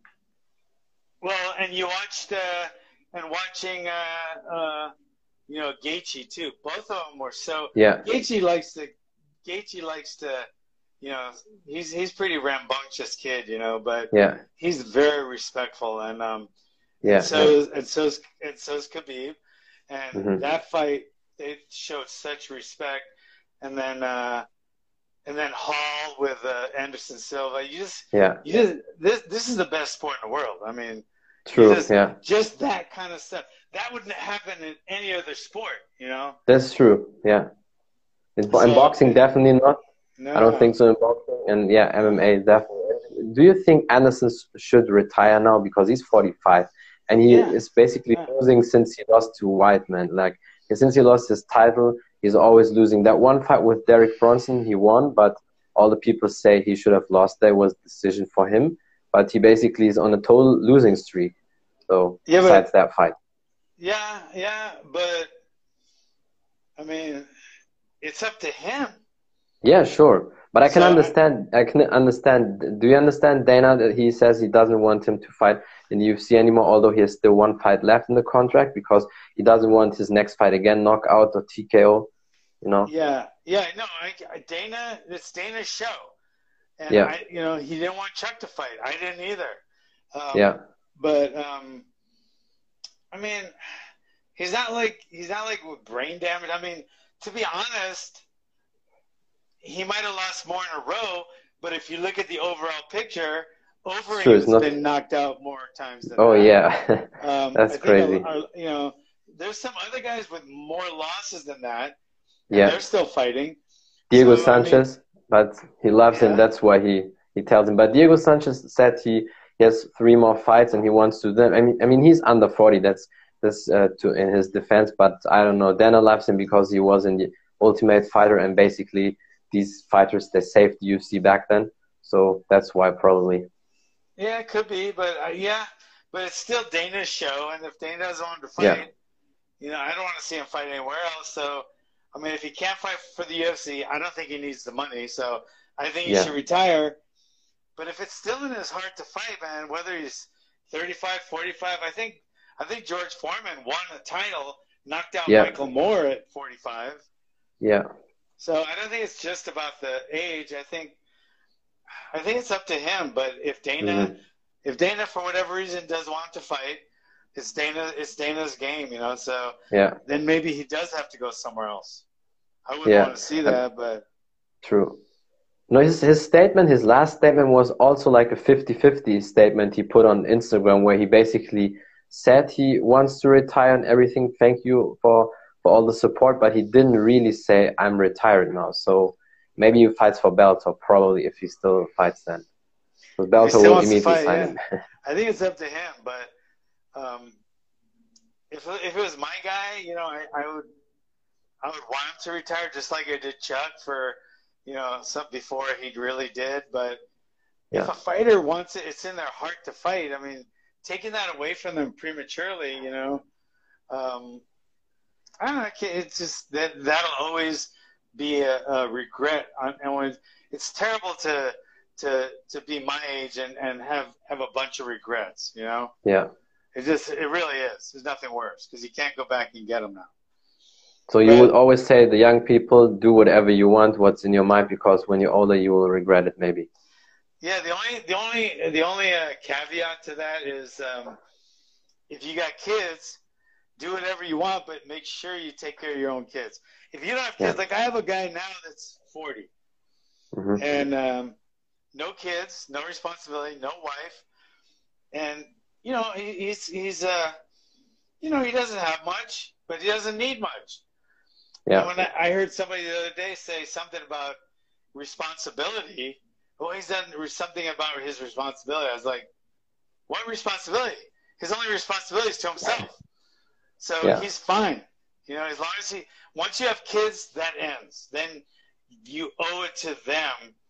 well, and you watched uh, and watching uh, uh, you know Gaethje too. Both of them were so. yeah, Gaethje likes to. Gaethje likes to. You know, he's he's pretty rambunctious kid, you know, but yeah, he's very respectful, and um, yeah, and so is, and so's and so's Khabib, and Mhm. that fight they showed such respect, and then uh, and then Hall with uh, Anderson Silva. You just yeah. you just this this is the best sport in the world. I mean, True, just, yeah, just that kind of stuff that wouldn't happen in any other sport, you know. that's true, yeah. In, So- in boxing, definitely not. No, I don't think so in boxing, and yeah, M M A definitely. Do you think Anderson should retire now because he's forty-five and he Yeah. is basically Yeah. losing since he lost to Whiteman? Like since he lost his title, he's always losing. That one fight with Derek Bronson, he won, but all the people say he should have lost. That was a decision for him, but he basically is on a total losing streak. So Yeah, but- besides that fight, Yeah, yeah, but I mean, it's up to him. yeah, sure. But I can So, understand. I can understand. Do you understand Dana that he says he doesn't want him to fight in the U F C anymore, although he has still one fight left in the contract because he doesn't want his next fight again knockout or T K O. You know? yeah, yeah, no, I, I, Dana, it's Dana's show. And, Yeah. I, you know, he didn't want Chuck to fight. I didn't either. Um, Yeah. But, um, I mean, he's not like, he's not like with brain damage. I mean, to be honest, he might have lost more in a row, but if you look at the overall picture, Overeem's not... been knocked out more times than Oh, that. yeah. um, That's crazy. A, a, you know, there's some other guys with more losses than that. And yeah. they're still fighting. Diego so, Sanchez, I mean, but he loves yeah. him. That's why he, he tells him. But Diego Sanchez said he, he has three more fights and he wants to do them. I mean, I mean, he's under forty. That's that's uh, to in his defense. But I don't know. Dana loves him because he was in the Ultimate Fighter, and basically these fighters they saved the U F C back then. So that's why probably. Yeah, it could be, but uh, yeah, but it's still Dana's show, and if Dana doesn't want to fight, yeah. you know, I don't want to see him fight anywhere else. So. I mean, if he can't fight for the U F C, I don't think he needs the money. So I think he yeah. should retire. But if it's still in his heart to fight, man, whether he's thirty-five, forty-five, I think I think George Foreman won a title, knocked out yeah. Michael Moore at forty-five. Yeah. So I don't think it's just about the age. I think I think it's up to him. But if Dana, mm-hmm. if Dana for whatever reason does want to fight, it's Dana. It's Dana's game, you know. So yeah. then maybe he does have to go somewhere else. I wouldn't yeah. want to see that, but true. No, his his statement, his last statement was also like a fifty-fifty statement he put on Instagram, where he basically said he wants to retire and everything. Thank you for for all the support, but he didn't really say I'm retired now. So maybe he fights for Bellator, probably if he still fights then. Because Bellator will immediately fight, sign yeah. him. I think it's up to him, but. Um, if if it was my guy, you know, I, I would I would want him to retire just like I did Chuck for, you know, some before he really did. But yeah. if a fighter wants it, it's in their heart to fight. I mean, taking that away from them prematurely, you know, um, I don't know. It's just that that'll always be a, a regret. And when it's terrible to to to be my age and, and have have a bunch of regrets, you know. Yeah. It just, it really is. There's nothing worse because you can't go back and get them now. So you but, would always say the young people do whatever you want, what's in your mind, because when you're older you will regret it maybe. Yeah, the only the only the only uh, caveat to that is um, if you got kids, do whatever you want, but make sure you take care of your own kids. If you don't have kids, yeah. like I have a guy now that's forty, mm-hmm. and um, no kids, no responsibility, no wife, and you know, he, he's, he's uh, you know, he doesn't have much, but he doesn't need much. Yeah. And when I, I heard somebody the other day say something about responsibility, well, he's done something about his responsibility. I was like, what responsibility? His only responsibility is to himself. So yeah. he's fine. You know, as long as he, once you have kids, that ends. Then you owe it to them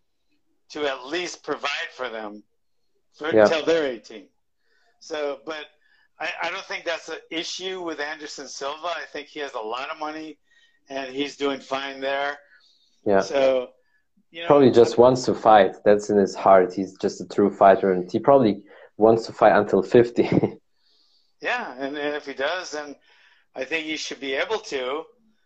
to at least provide for them for, yeah. until they're eighteen. So, but I, I don't think that's an issue with Anderson Silva. I think he has a lot of money, and he's doing fine there. Yeah. So, you know, probably just wants to fight. That's in his heart. He's just a true fighter, and he probably wants to fight until fifty. Yeah, and, and if he does, then I think he should be able to.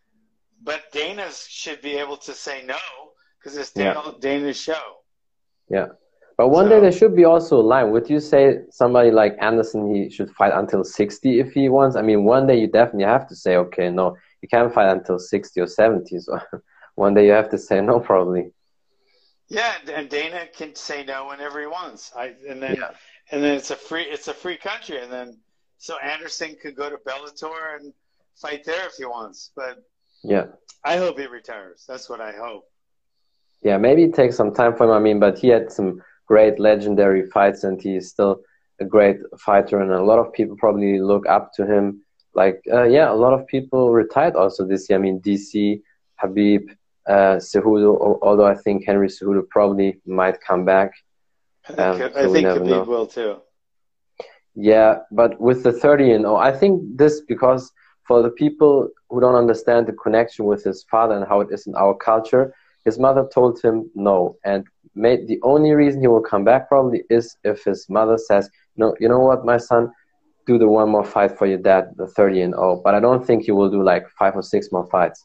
But Dana should be able to say no because it's Dana, yeah. Dana's show. Yeah. But one so, day there should be also a line. Would you say somebody like Anderson, he should fight until sixty if he wants? I mean, one day you definitely have to say, okay, no, you can't fight until sixty or seventy. So one day you have to say no, probably. Yeah, and Dana can say no whenever he wants. I and then yeah. and then it's a free it's a free country, and then so Anderson could go to Bellator and fight there if he wants. But yeah, I hope he retires. That's what I hope. Yeah, maybe it takes some time for him. I mean, but he had some great legendary fights, and he's still a great fighter, and a lot of people probably look up to him. Like, uh, yeah, a lot of people retired also this year. I mean, D C, Khabib, uh, Cejudo, although I think Henry Cejudo probably might come back. I think, um, so I think Khabib will too. Yeah, but with the thirty and oh, I think this because for the people who don't understand the connection with his father and how it is in our culture, his mother told him no, and made the only reason he will come back probably is if his mother says, no, you know what, my son, do the one more fight for your dad, the thirty and oh. But I don't think he will do like five or six more fights.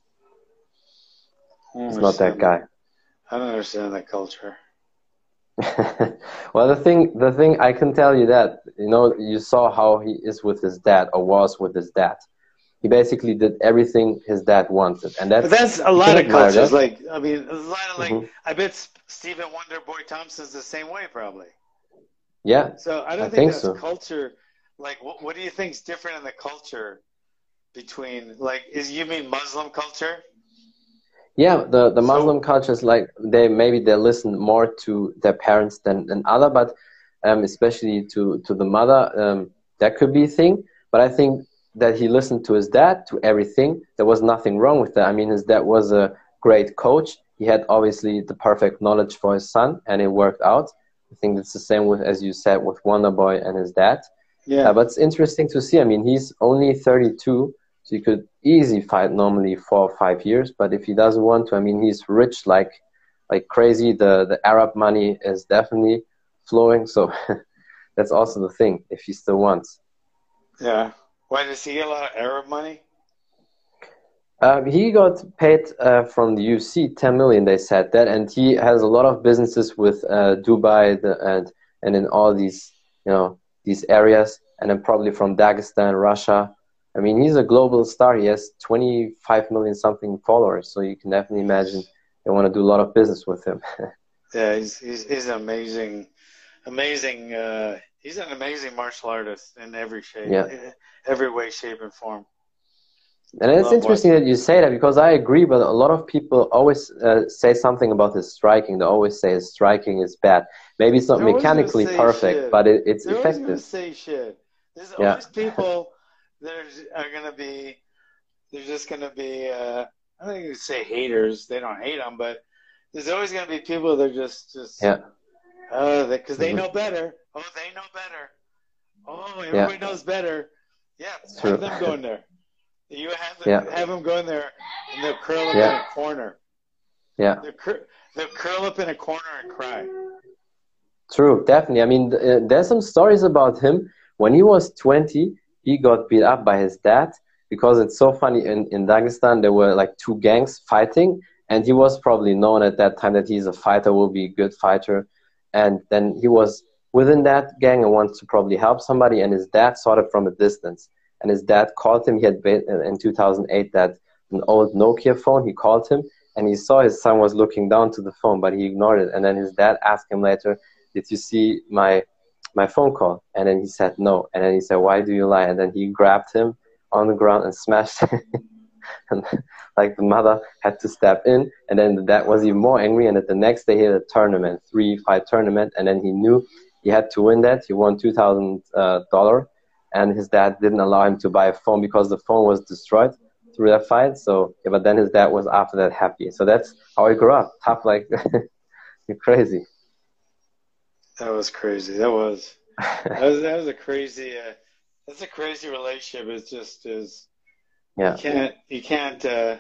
He's not that guy. I don't understand that culture. Well, the thing, the thing I can tell you that, you know, you saw how he is with his dad, or was with his dad. He basically did everything his dad wanted, and that's, but that's a lot of cultures. That. Like, I mean, a lot of like, mm-hmm. I bet Stephen Wonder Boy Thompson's the same way, probably. Yeah. So I don't I think, think that's so. culture. Like, what, what do you think is different in the culture between, like, is you mean Muslim culture? Yeah, the, the Muslim so, culture is like, they maybe they listen more to their parents than, than other, but um, especially to, to the mother, um, that could be a thing. But I think that he listened to his dad, to everything. There was nothing wrong with that. I mean, his dad was a great coach. He had obviously the perfect knowledge for his son, and it worked out. I think it's the same with, as you said, with Wonder Boy and his dad. Yeah. Uh, but it's interesting to see. I mean, he's only thirty-two. So he could easily fight normally four or five years, but if he doesn't want to, I mean, he's rich like like crazy. The the Arab money is definitely flowing, so that's also the thing, if he still wants. Yeah. Why, does he get a lot of Arab money? Um, he got paid uh, from the U F C ten million, they said that, and he has a lot of businesses with uh, Dubai the, and and in all these, you know, these areas, and then probably from Dagestan, Russia. I mean, he's a global star. He has twenty-five million something followers, so you can definitely imagine they want to do a lot of business with him. Yeah, he's he's he's an amazing, amazing. Uh, he's an amazing martial artist in every shape, Yeah. every way, shape, and form. And it's interesting that you say that, because I agree, but a lot of people always uh, say something about his striking. They always say his striking is bad. Maybe it's not They're mechanically perfect, shit. but it, it's They're effective. Always gonna say shit. There's Yeah. always people that are going to be, they're just going to be, uh, I don't think you say haters. They don't hate them, but there's always going to be people that are just, just yeah. uh, because they mm-hmm. know better. Oh, they know better. Oh, everybody yeah. knows better. Yeah, it's have true. them go in there. You have them, yeah. have them go in there, and they'll curl up yeah. in a corner. Yeah. They'll, cur- they'll curl up in a corner and cry. True, definitely. I mean, uh, there's some stories about him. When he was twenty, he got beat up by his dad, because it's so funny. In, in Dagestan, there were like two gangs fighting, and he was probably known at that time that he's a fighter, will be a good fighter. And then he was within that gang and wants to probably help somebody, and his dad saw it from a distance. And his dad called him. He had been in two thousand eight that an old Nokia phone. He called him, and he saw his son was looking down to the phone, but he ignored it. And then his dad asked him later, "Did you see my my phone call?" And then he said no. And then he said, "Why do you lie?" And then he grabbed him on the ground and smashed him. And like the mother had to step in, and then the dad was even more angry. And at the next day he had a tournament, three fight tournament, and then he knew he had to win that. He won two thousand dollars, and his dad didn't allow him to buy a phone because the phone was destroyed through that fight. So yeah, but then his dad was after that happy. So that's how he grew up, tough like you're crazy. That was crazy. That was that was, that was a crazy. Uh, that's a crazy relationship. It's just is. Yeah. You can't. You can't. Uh,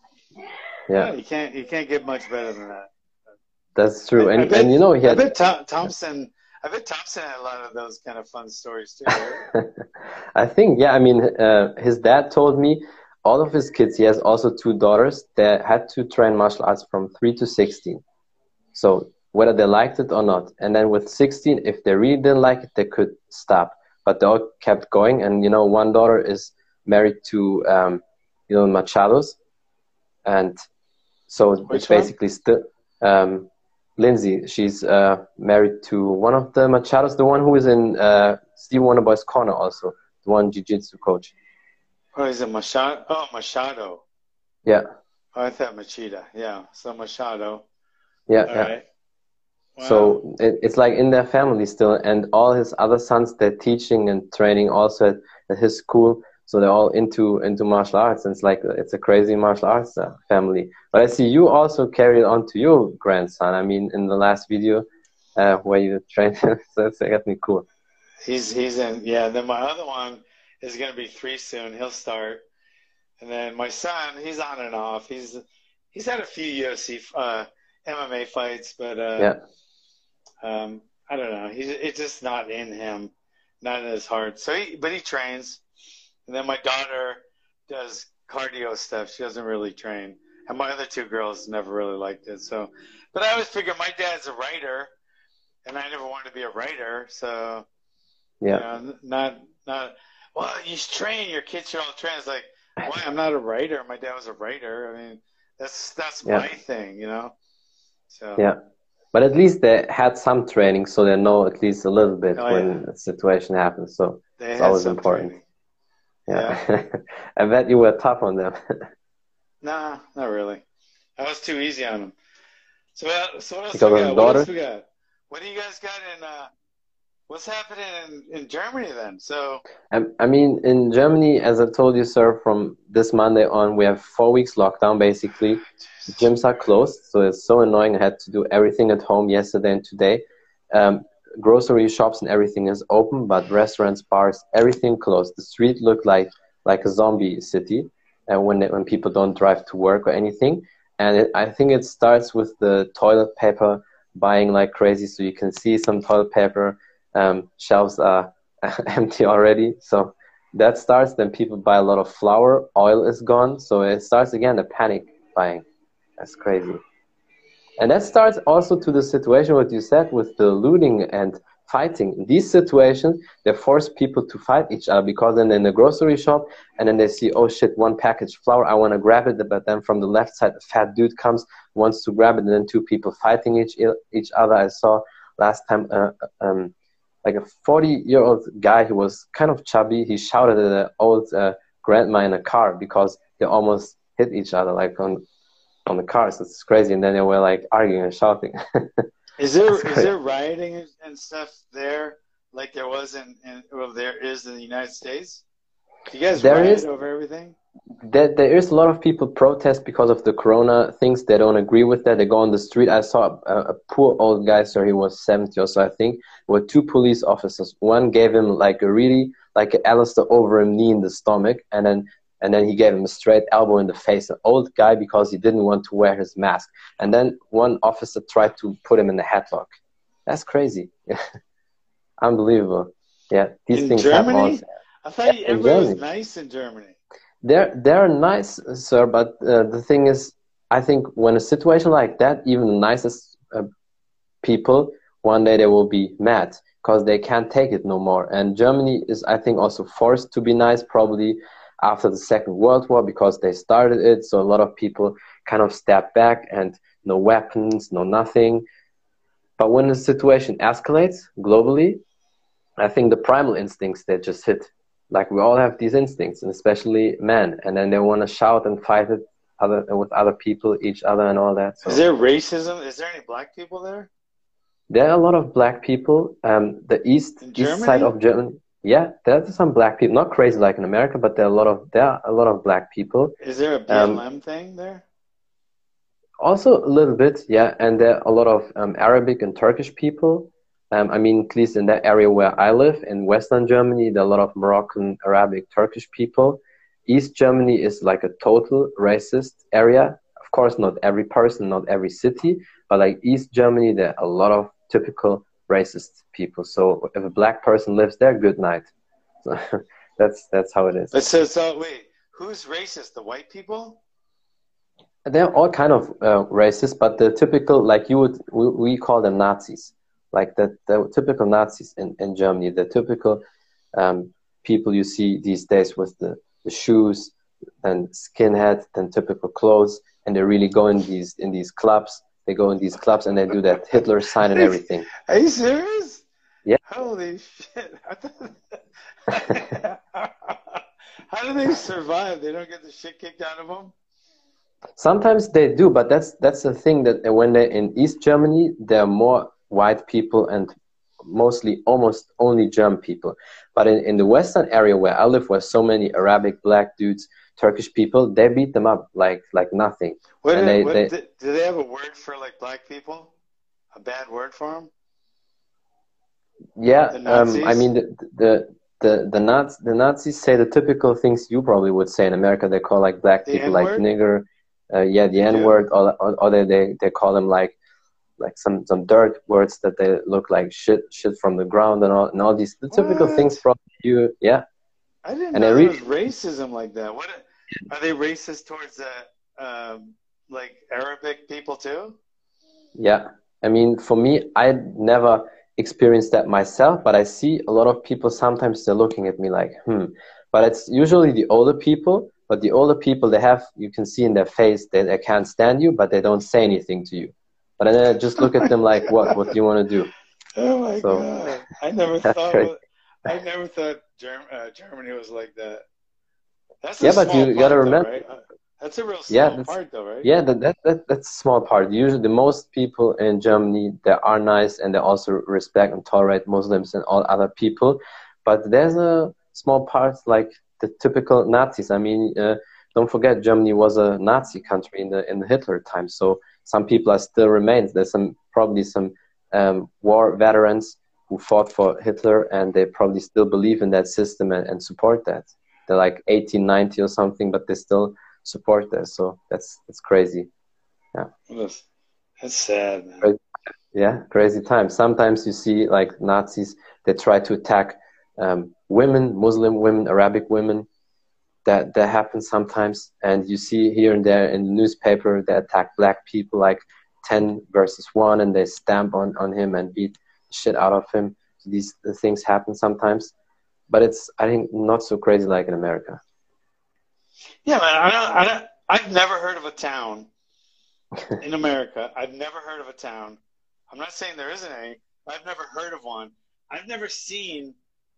yeah. You can't. You can't get much better than that. That's true. I, and I bet, and you know he had. I bet Tom, Thompson. I bet Thompson had a lot of those kind of fun stories too. Right? I think yeah. I mean, uh, his dad told me all of his kids. He has also two daughters that had to train martial arts from three to sixteen. So whether they liked it or not. And then with sixteen, if they really didn't like it, they could stop. But they all kept going. And, you know, one daughter is married to, um, you know, Machados. And so Which it's basically still, um, Lindsay, she's uh, married to one of the Machados, the one who is in uh, Steve Wonderboy's corner also, the one jiu-jitsu coach. Oh, is it Machado? Oh, Machado. Yeah. Oh, I thought Machida. Yeah, so Machado. Yeah, all yeah. Right. Wow. So it, it's like in their family still, and all his other sons, they're teaching and training also at, at his school. So they're all into into martial arts, and it's like it's a crazy martial arts uh, family. But I see you also carry it on to your grandson. I mean, in the last video uh, where you trained him, so that's definitely cool. He's he's in yeah. Then my other one is gonna be three soon. He'll start, and then my son, he's on and off. He's he's had a few U F C uh, M M A fights, but uh, Yeah. um, I don't know. He's it's just not in him, not in his heart. So, he, but he trains. And then my daughter does cardio stuff. She doesn't really train. And my other two girls never really liked it. So, but I always figured my dad's a writer, and I never wanted to be a writer. So, Yeah. you know, not not. Well, you should train. Your kids should all train. It's like, why? I'm not a writer. My dad was a writer. I mean, that's that's Yeah. my thing, you know. So Yeah. But at least they had some training, so they know at least a little bit Oh, when yeah. a situation happens. So they it's had always some important. training. Yeah. I bet you were tough on them. Nah, not really. I was too easy on them. So, uh, so what else Because we of got? his What else daughter? we got? What do you guys got in? Uh, what's happening in, in Germany then? So, I, I mean, in Germany, as I told you, sir, from this Monday on, we have four weeks lockdown, basically. Gyms are closed, so it's so annoying. I had to do everything at home yesterday and today. Um, grocery shops and everything is open, but restaurants, bars, everything closed. The street looked like like a zombie city uh, when they, when people don't drive to work or anything. And it, I think it starts with the toilet paper buying like crazy. So you can see some toilet paper um, shelves are empty already. So that starts. Then people buy a lot of flour. Oil is gone. So it starts again the panic buying. That's crazy. And that starts also to the situation what you said with the looting and fighting. In these situations, they force people to fight each other because then in the grocery shop and then they see, oh shit, one package flour, I want to grab it. But then from the left side, a fat dude comes, wants to grab it, and then two people fighting each each other. I saw last time uh, um, like a forty-year-old guy who was kind of chubby. He shouted at an old uh, grandma in a car because they almost hit each other like on on the cars. It's crazy. And then they were like arguing and shouting. is there That's is crazy. there rioting and- and stuff there like there was in, in well there is in the United States? Do you guys There riot is over everything? there, there is a lot of people protest because of the corona things. They don't agree with that. They go on the street. I saw a, a poor old guy, sir. He was seventy or so, I think. With two police officers. One gave him like a really like an Alistair Overeem knee in the stomach, and then and then he gave him a straight elbow in the face. An old guy because he didn't want to wear his mask. And then one officer tried to put him in the headlock. That's crazy. Unbelievable. Yeah, these In things happen Germany? also. I thought In everybody was Germany. nice in Germany. They're they're nice, sir, but uh, the thing is, I think when a situation like that, even the nicest uh, people, one day they will be mad because they can't take it no more. And Germany is, I think, also forced to be nice, probably after the Second World War because they started it. So a lot of people kind of step back and no weapons, no nothing. But when the situation escalates globally, I think the primal instincts they just hit. Like we all have these instincts, and especially men, and then they want to shout and fight it other with other people, each other, and all that. So Is there racism? Is there any black people there? there are a lot of black people. Um, the east In east side Germany? of Germany, yeah, there's some black people. Not crazy like in America, but there are a lot of there are a lot of black people. Is there a B L M Um, thing there? Also a little bit, yeah, and there are a lot of um, Arabic and Turkish people. Um, I mean, at least in that area where I live, in Western Germany, there are a lot of Moroccan, Arabic, Turkish people. East Germany is like a total racist area. Of course, not every person, not every city, but like East Germany, there are a lot of typical racist people. So if a black person lives there, good night. So that's that's how it is. But so, so wait, who's racist? The white people? They're all kind of uh, racist, but the typical, like you would, we, we call them Nazis. Like the, the typical Nazis in, in Germany, the typical um, people you see these days with the, the shoes and skinhead and typical clothes, and they really go in these in these clubs. They go in these clubs and they do that Hitler sign and everything. Are you serious? Yeah. Holy shit! I thought- How do they survive? They don't get the shit kicked out of them. Sometimes they do, but that's that's the thing that when they're in East Germany, there are more white people and mostly almost only German people. But in, in the Western area where I live, where so many Arabic, black dudes, Turkish people, they beat them up like like nothing. What, And do, they, what they, do, do they have a word for like black people? A bad word for them? yeah, The um, I Nazis? mean the the the the, Naz, the Nazis say the typical things you probably would say in America. They call like black The people like N-word? nigger. uh, yeah, the They N do? word, or, or, or they, they they call them like like some some dirt words that they look like shit shit from the ground and all and all these the typical things. What? Probably you, yeah, I didn't and they know there was really, racism like that. What are they racist towards the um, like Arabic people too? yeah. I mean, for me, I never experienced that myself, but I see a lot of people sometimes they're looking at me like, hmm. But it's usually the older people. But the older people, they have, you can see in their face that they can't stand you, but they don't say anything to you. But then I just Oh look at my them like, what? What do god! you want to do? Oh my So god! I never that's thought crazy. wa- I never thought Germ- uh, Germany was like that. That's a Yeah, but small you gotta part, though, remember, right? Uh, That's a real yeah, small that's part, though, right? yeah, that, that that that's a small part. Usually, the most people in Germany they are nice and they also respect and tolerate Muslims and all other people. But there's a small part like the typical Nazis. I mean, uh, don't forget Germany was a Nazi country in the in the Hitler time. So some people are still remains. There's some probably some um, war veterans who fought for Hitler and they probably still believe in that system and, and support that. They're like eighteen, ninety or something, but they still support this. So that's that's crazy. Yeah, That's, that's sad, man. Cra- yeah, crazy times. Sometimes you see like Nazis, they try to attack um, women, Muslim women, Arabic women. That that happens sometimes, and you see here and there in the newspaper they attack black people like ten versus one, and they stamp on on him and beat the shit out of him. These the things happen sometimes, but it's I think not so crazy like in America. Yeah, man. I don't, I don't, I've never heard of a town in America. I've never heard of a town. I'm not saying there isn't any. But I've never heard of one. I've never seen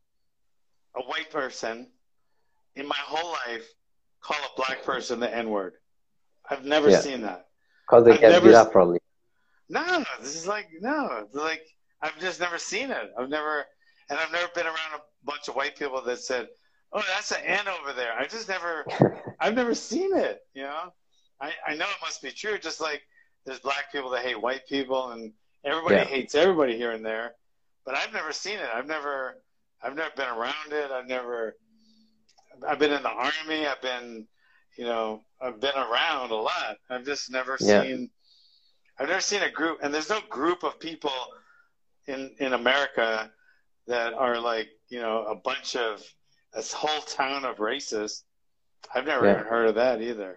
a white person in my whole life call a black person the N word. I've never Yeah, seen that. because they I've get never. beat up probably. No, no. This is like no. Like I've just never seen it. I've never, and I've never been around a bunch of white people that said, "Oh, that's an N over there." I just never. I've never seen it. You know. I I know it must be true. Just like there's black people that hate white people, and everybody Yeah, hates everybody here and there. But I've never seen it. I've never. I've never been around it. I've never. I've been in the army. I've been, you know, I've been around a lot. I've just never yeah. seen. I've never seen a group, and there's no group of people in in America that are like, you know, a bunch of this whole town of racists. I've never Yeah. even heard of that either.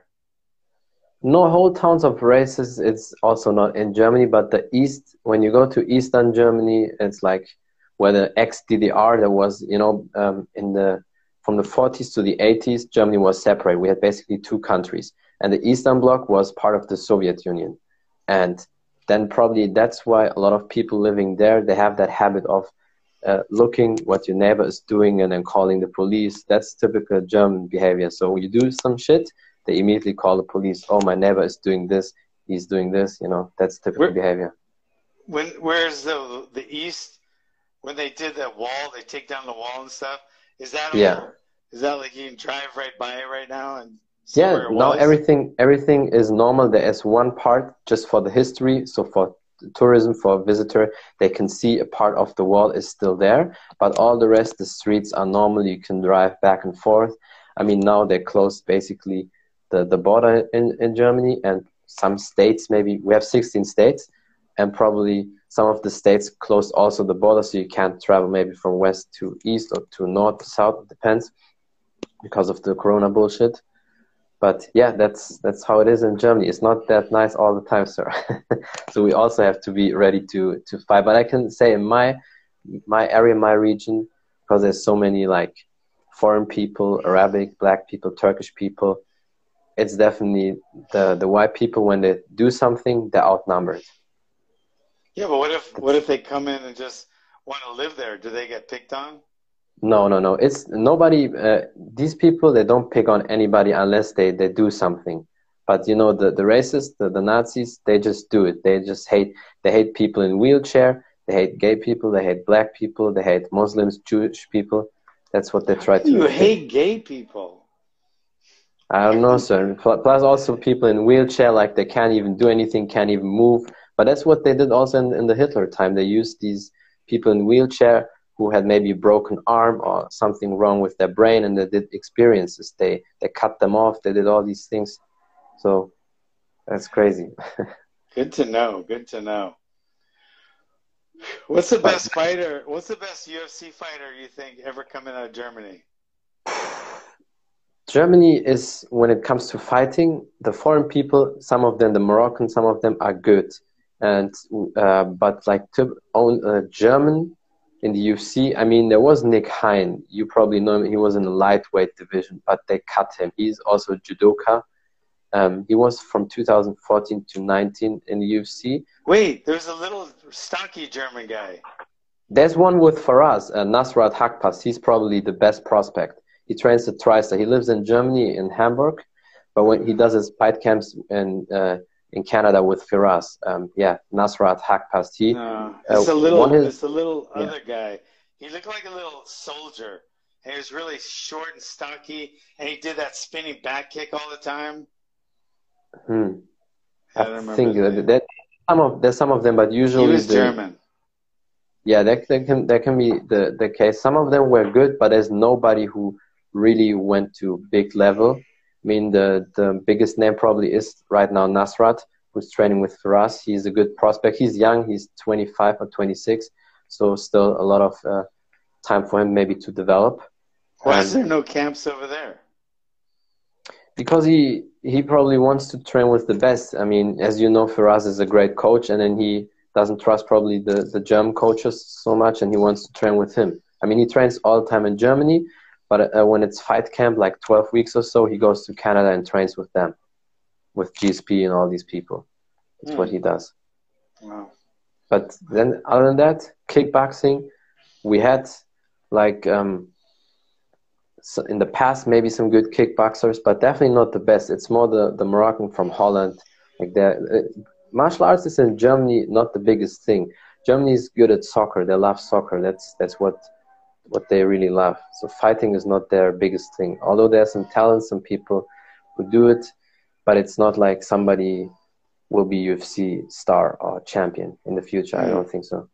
No whole towns of races. It's also not in Germany, but the east. When you go to Eastern Germany, it's like where the ex-D D R. There was, you know, um, in the from the forties to the eighties, Germany was separate. We had basically two countries, and the Eastern Bloc was part of the Soviet Union, and then probably that's why a lot of people living there they have that habit of uh, looking what your neighbor is doing and then calling the police. That's typical German behavior. So you do some shit, they immediately call the police. Oh, my neighbor is doing this. He's doing this. You know, that's typical Where, behavior. when where's the the East? When they did that wall, they take down the wall and stuff. Is that Yeah. all? Is that like you can drive right by it right now and see Yeah. where it Now was? everything everything is normal. There is one part just for the history. So for tourism, for a visitor, they can see a part of the wall is still there, but all the rest, the streets are normal. You can drive back and forth. I mean, now they closed basically the, the border in, in Germany, and some states, maybe we have sixteen states, and probably some of the states closed also the border, so you can't travel maybe from west to east or to north to south, it depends, because of the corona bullshit. But yeah, that's that's how it is in Germany. It's not that nice all the time, sir. So we also have to be ready to to fight. But I can say in my my area, my region, because there's so many like foreign people, Arabic, black people, Turkish people, it's definitely the the white people when they do something, they're outnumbered. Yeah, but what if what if they come in and just want to live there? Do they get picked on? No, no, no. It's nobody. Uh, these people they don't pick on anybody unless they they do something. But you know the the racists, the, the Nazis, they just do it. They just hate. They hate people in wheelchair. They hate gay people. They hate black people. They hate Muslims, Jewish people. That's what they How try can you to. hate gay people? I don't know, sir. Pl- Plus also people in wheelchair, like they can't even do anything, can't even move. But that's what they did also in, in the Hitler time. They used these people in wheelchair who had maybe a broken arm or something wrong with their brain, and they did experiences. They they cut them off. They did all these things. So That's crazy. Good to know. Good to know. What's the But best fighter? What's the best U F C fighter you think ever coming out of Germany? Germany is, when it comes to fighting, the foreign people, some of them, the Moroccans, some of them are good. And uh, but like to own a German in the U F C, I mean, there was Nick Hein. You probably know him. He was in the lightweight division, but they cut him. He's also a judoka. Um, he was from two thousand fourteen to nineteen in the U F C. Wait, there's a little stocky German guy. There's one with Faraz, uh, Nasrat Hakparas. He's probably the best prospect. He trains at TriStar. He lives in Germany, in Hamburg, but when he does his fight camps in uh, in Canada with Firas, um, yeah, Nasrat Hakparas. He, No, uh, it's a little, won his, it's a little yeah. other guy. He looked like a little soldier. And he was really short and stocky, and he did that spinning back kick all the time. Hmm. I I don't remember think his that, name. that some of there's some of them, but He usually was the German. yeah, that, that can that can be the the case. Some of them were good, but there's nobody who really went to big level. I mean, the the biggest name probably is right now Nasrat, who's training with Firas. He's a good prospect. He's young. He's twenty-five or twenty-six, so still a lot of uh, time for him maybe to develop. Why is And there no camps over there? because he he probably wants to train with the best. I mean, as you know, Firas is a great coach, and then he doesn't trust probably the, the German coaches so much, and he wants to train with him. I mean, he trains all the time in Germany, but uh, when it's fight camp, like twelve weeks or so, he goes to Canada and trains with them, with G S P and all these people. That's Hmm. what he does. Wow. But then other than that, kickboxing, we had like um, so in the past maybe some good kickboxers, but definitely not the best. It's more the, the Moroccan from Holland. Like that, uh, martial arts is in Germany not the biggest thing. Germany is good at soccer. They love soccer. That's that's what what they really love. So fighting is not their biggest thing. Although there's some talent, some people who do it, but it's not like somebody will be U F C star or champion in the future. I Hmm. don't think so.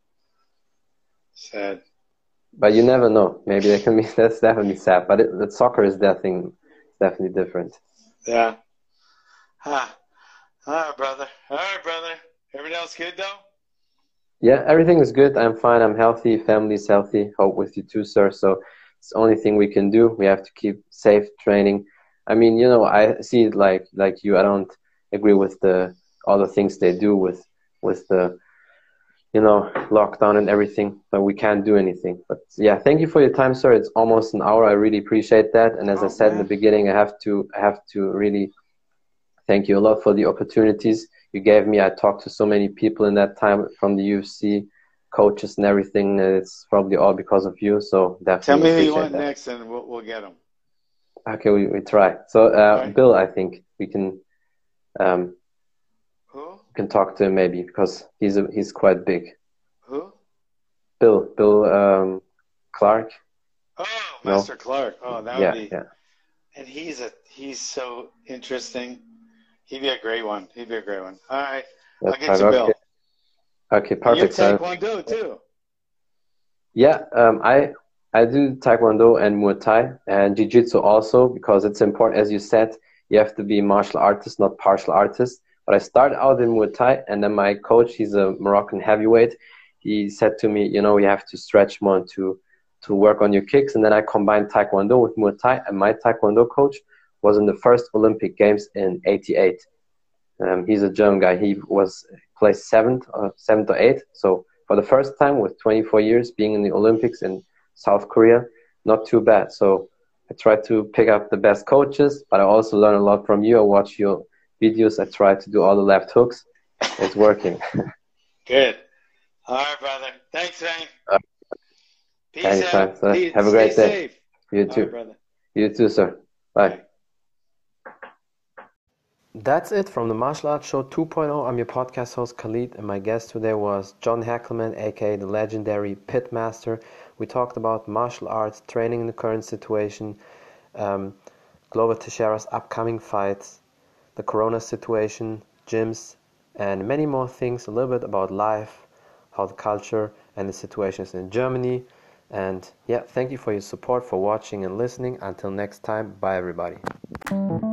Sad. But you never know. Maybe they can be. That's definitely sad. But it, that soccer is that thing. It's definitely different. Yeah. Ah. All right, brother. All right, brother. Everything else good, though? Yeah, everything is good. I'm fine. I'm healthy. Family's healthy. Hope with you too, sir. So it's the only thing we can do. We have to keep safe training. I mean, you know, I see it like like you. I don't agree with the all the things they do with with the you know lockdown and everything. But we can't do anything. But yeah, thank you for your time, sir. It's almost an hour. I really appreciate that. And as I Oh, said in the man. beginning, I have to I have to really thank you a lot for the opportunities you gave me. I talked to so many people in that time from the U F C, coaches and everything. It's probably all because of you. So Tell definitely me who you appreciate want that. next, and we'll, we'll get him. Okay, we, we try. So All uh, right. Bill, I think we can um, Who? can talk to him maybe because he's a, he's quite big. Who? Bill, Bill um, Clark. Oh, No, Master Clark. Oh, that would yeah, be. yeah. And he's a he's so interesting. He'd be a great one. He'd be a great one. All right. I'll That's get right. you Okay, Bill. okay, And you're perfect. So Taekwondo, too. yeah, um, I I do Taekwondo and Muay Thai and Jiu-Jitsu also because it's important. As you said, you have to be a martial artist, not partial artist. But I started out in Muay Thai, and then my coach, he's a Moroccan heavyweight. He said to me, you know, you have to stretch more to to work on your kicks. And then I combined Taekwondo with Muay Thai, and my Taekwondo coach was in the first Olympic Games in eighty-eight. Um, he's a German guy. He was placed seventh or seventh or eighth. So for the first time with twenty-four years being in the Olympics in South Korea, not too bad. So I try to pick up the best coaches, but I also learn a lot from you. I watch your videos. I try to do all the left hooks. It's working. Good. All right, brother. Thanks, man. Uh, Peace anytime, out. sir. Peace. Have a Stay great day. safe. You All right, too. brother. You too, sir. Bye. Bye. That's it from the Martial Arts Show two point oh. I'm your podcast host Khalid, and my guest today was John Hackelman, aka the legendary Pitmaster. We talked about martial arts, training in the current situation, um, Glover Teixeira's upcoming fights, the corona situation, gyms, and many more things, a little bit about life, how the culture and the situation is in Germany. And yeah, thank you for your support, for watching and listening. Until next time, bye everybody.